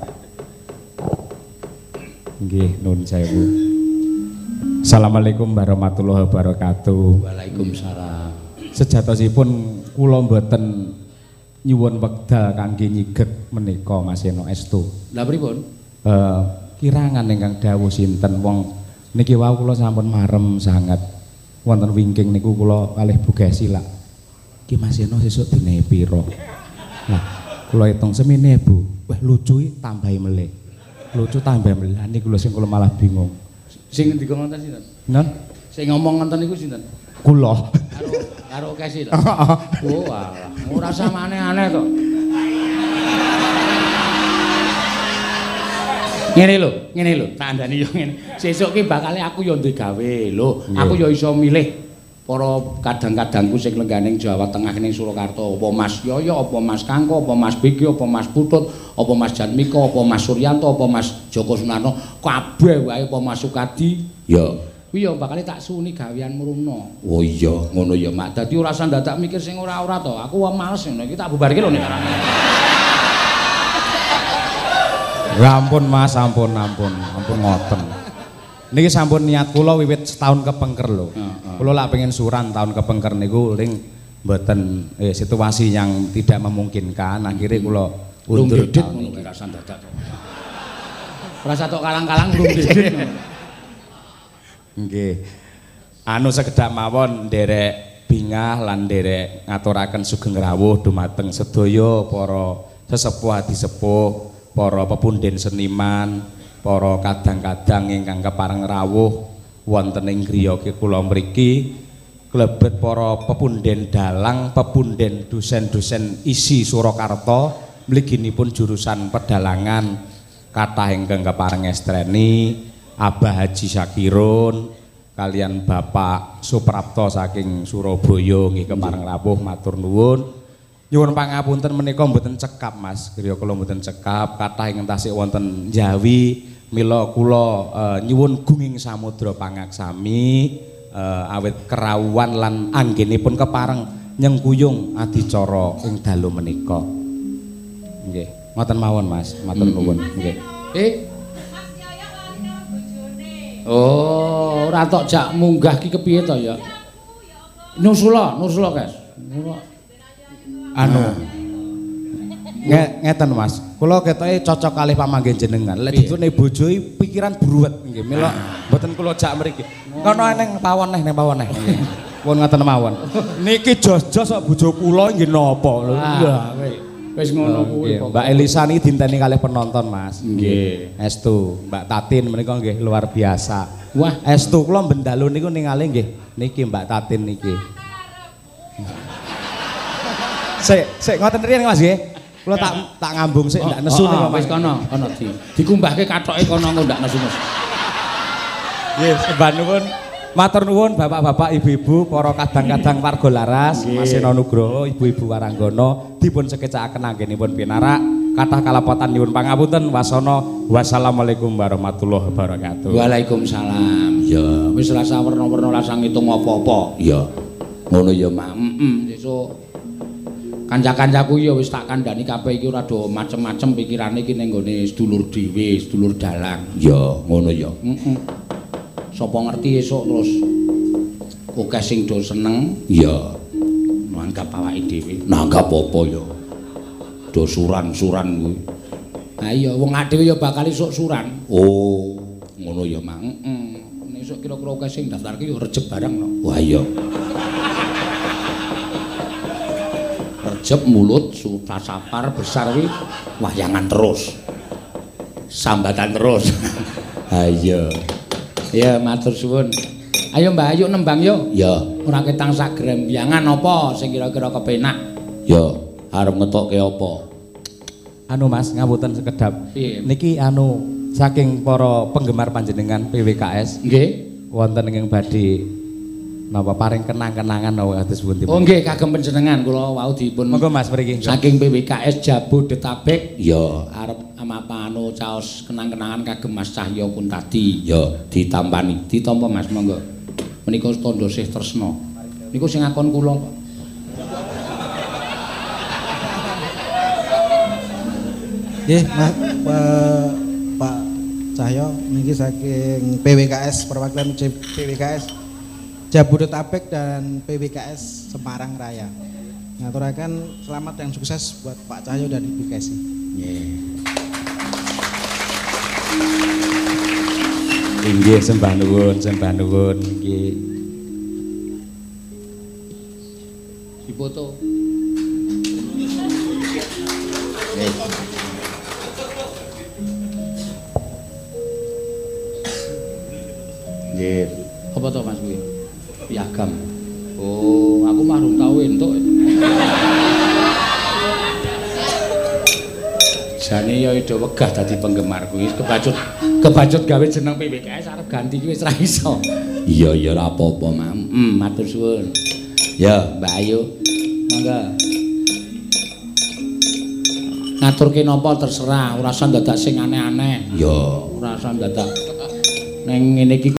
Nggih, nuwun sewu. Assalamualaikum warahmatullahi wabarakatuh. Waalaikumsalam. Sejatosipun kula mboten nyuwun wekdal kangge nyiget menika Mas Eno Estu. Lah pripun? Eh kirangan ingkang dawuh sinten wong niki wau kula sampun marem sanget. Wonten wingking niku kula kalih Bu Gesi lak. Ki Mas Eno sesuk dine pira? Lah, kula hitung semene Bu. Wah, lucu tambahi melih. Lucu tambahi melih. Niku lho sing kula malah bingung. Sing ngendika ngoten sinten? Nun, Sing ngomong ngoten niku sinten? kula. Karo karo Kesi lho. Oh, alah, ora sama aneh-aneh to. Ngene lho, ngene lho, tak andani yo ngene. Sesuk ki bakal aku yo duwe gawe lho. Aku yo iso milih para kadang-kadangku sing lengganing Jawa Tengah ning Surakarta, apa Mas Yoyo, apa Mas Kangko, apa Mas Begi, apa Mas Putut, apa Mas Janmika, apa Mas Suryanto, apa Mas Joko Sunarno, kabeh wae apa Mas Sukadi. Ya. Kuwi yo bakal tak suni gawean mrono. Oh iya, ngono ya, Mak. Dadi ora usah dadak mikir sing ora-ora to. Aku wae males ngono iki tak bubarke lho nek carane. Ya ampun Mas, ampun, ampun, ampun ngoten. Niki sampun niat kula wiwit setahun kepengker lho. Kula lak pengen suran tahun kepengker niku ning mboten eh, situasi yang tidak memungkinkan. Akhirnya kula undur Undit tahun ngono niki. ora usah dadak to. Ora usah tok kalang-kalang belum didit. Nggih. Anu sekedhak mawon nderek bingah lan nderek ngaturaken sugeng rawuh dumateng sedaya para sesepuh adi sepuh, para pepunden seniman, para kadang-kadang ingkang kepareng rawuh wonten ing griya kula mriki, klebet para pepunden dalang, pepunden dosen-dosen isi Surakarta, mliginipun jurusan pedalangan, kathah ingkang kepareng estreni, Abah Haji Sakirun, kalian Bapak Suprapto saking Surabaya nggih kepareng rawuh matur nuwun. Nyuwun pangapunten menika mboten cekap Mas, griya kula mboten cekap, kathah ingkang tasih wonten Jawi, mila kula uh, nyuwun gunging samudra pangaksami uh, awit kerawuhan lan anggenipun kepareng nyengkuyung adicara ing dalu menika. Nggih, ngoten mawon Mas, matur nuwun. Nggih. Eh. Oh, ora tok jak munggah ki kepiye to ya? Nusula, Nusula, Guys. Anu nge ngeten Mas, kula ketoke cocok kalih pamanggen jenengan. Lek ditune bojo pikiran bruwet nggih, mila mboten kula jak mriki. Kono ning pawon neh ning pawon neh. Nggih. Pun ngoten mawon. Niki jos-jos kok bojo kula nggih napa lho. Iya. Wis ngono kuwi. Mbak Elisa niki dinteni kalih penonton Mas. Nggih. Estu, Mbak Tatin menika nggih luar biasa. Wah, Estu kula bendalu niku ningali nggih. Niki Mbak Tatin niki. Sik, sik ngoten riyen Mas nggih. Kula tak tak ngambung sik ndak nesu niku Mas. Wis kono, kono di. Dikumbahke kathoke kono engko ndak nesu Mas. Nggih, sembah nuwun. Matur nuwun Bapak-bapak, Ibu-ibu, para kadang-kadang warga laras, Mas Eno Nugroho, Ibu-ibu Waranggono dipun sekecakaken anggenipun pinarak. Kathah kalapotan nyuwun pangapunten. Wasana wassalamualaikum warahmatullahi wabarakatuh. Waalaikumsalam. Ya, wis rasa werna-werna rasa ngitung apa-apa. Ya. Ngono ya, Mak. Heeh, sesuk kanca-kancaku ya wis tak kandhani kabeh iki ora do macem-macem pikirane iki ning gone sedulur dhewe, sedulur dalang. Ya, ngono ya. Heeh. Sapa ngerti esuk terus akeh sing do seneng Ya. nanggap awake dhewe. Nanggap apa ya? Do suran-suran kuwi. Ha iya wong dhewe ya bakal esuk suran. Oh, ngono ya, Mak. Heeh. Nek esuk kira-kira akeh sing daftarke ya rejeb barang no. Wah iya. Rejeb mulut suta sapar besar kuwi wahyangan terus. Sambatan terus. Ha iya. Ya matur suwun. Ayo Mbak Ayu nembang yo. Ya. Ora ketang sak grembyangan apa sing kira-kira kepenak. Ya, arep ngetokke apa? Anu Mas, ngapunten sekedap. Piye? Niki anu saking para penggemar panjenengan P W K S Nggih. wonten ing badhe napa paring kenang-kenangan napa kados pundi. Oh nggih kagem panjenengan kula wau dipun Monggo Mas mriki. saking P W K S Jabodetabek Ya, arep amapa anu caos kenang-kenangan kagem Mas Cahya Kuntadi. ya. Ditampani. Ditampa Mas monggo. Menika tandha sih tresna. Niku sing ngakon kula kok. Nggih, Mas Pak Pak Cahyo niki saking P W K S perwakilan P W K S Jabodetabek dan P W K S Semarang Raya. Ngaturaken selamat dan sukses buat Pak Cahyo dan Ibu Kesi. Nggih. Inggih sembah nuwun, sembah nuwun nggih. Dipoto. Nggih. Apa to Mas kuwi? Piagam. Oh, aku mah durung tau entuk. Jane ya ido wegah dadi penggemar kuwi. Kebacut kebacut gawe jeneng P W K S arep ganti kuwi wis ra iso. Iya, ya ora apa-apa, Mam. Hmm, matur suwun. Ya, Mbak Ayu. Monggo. Ngaturke napa terserah, ora usah dadak sing aneh-aneh. ya. Ora usah dadak neng ngene iki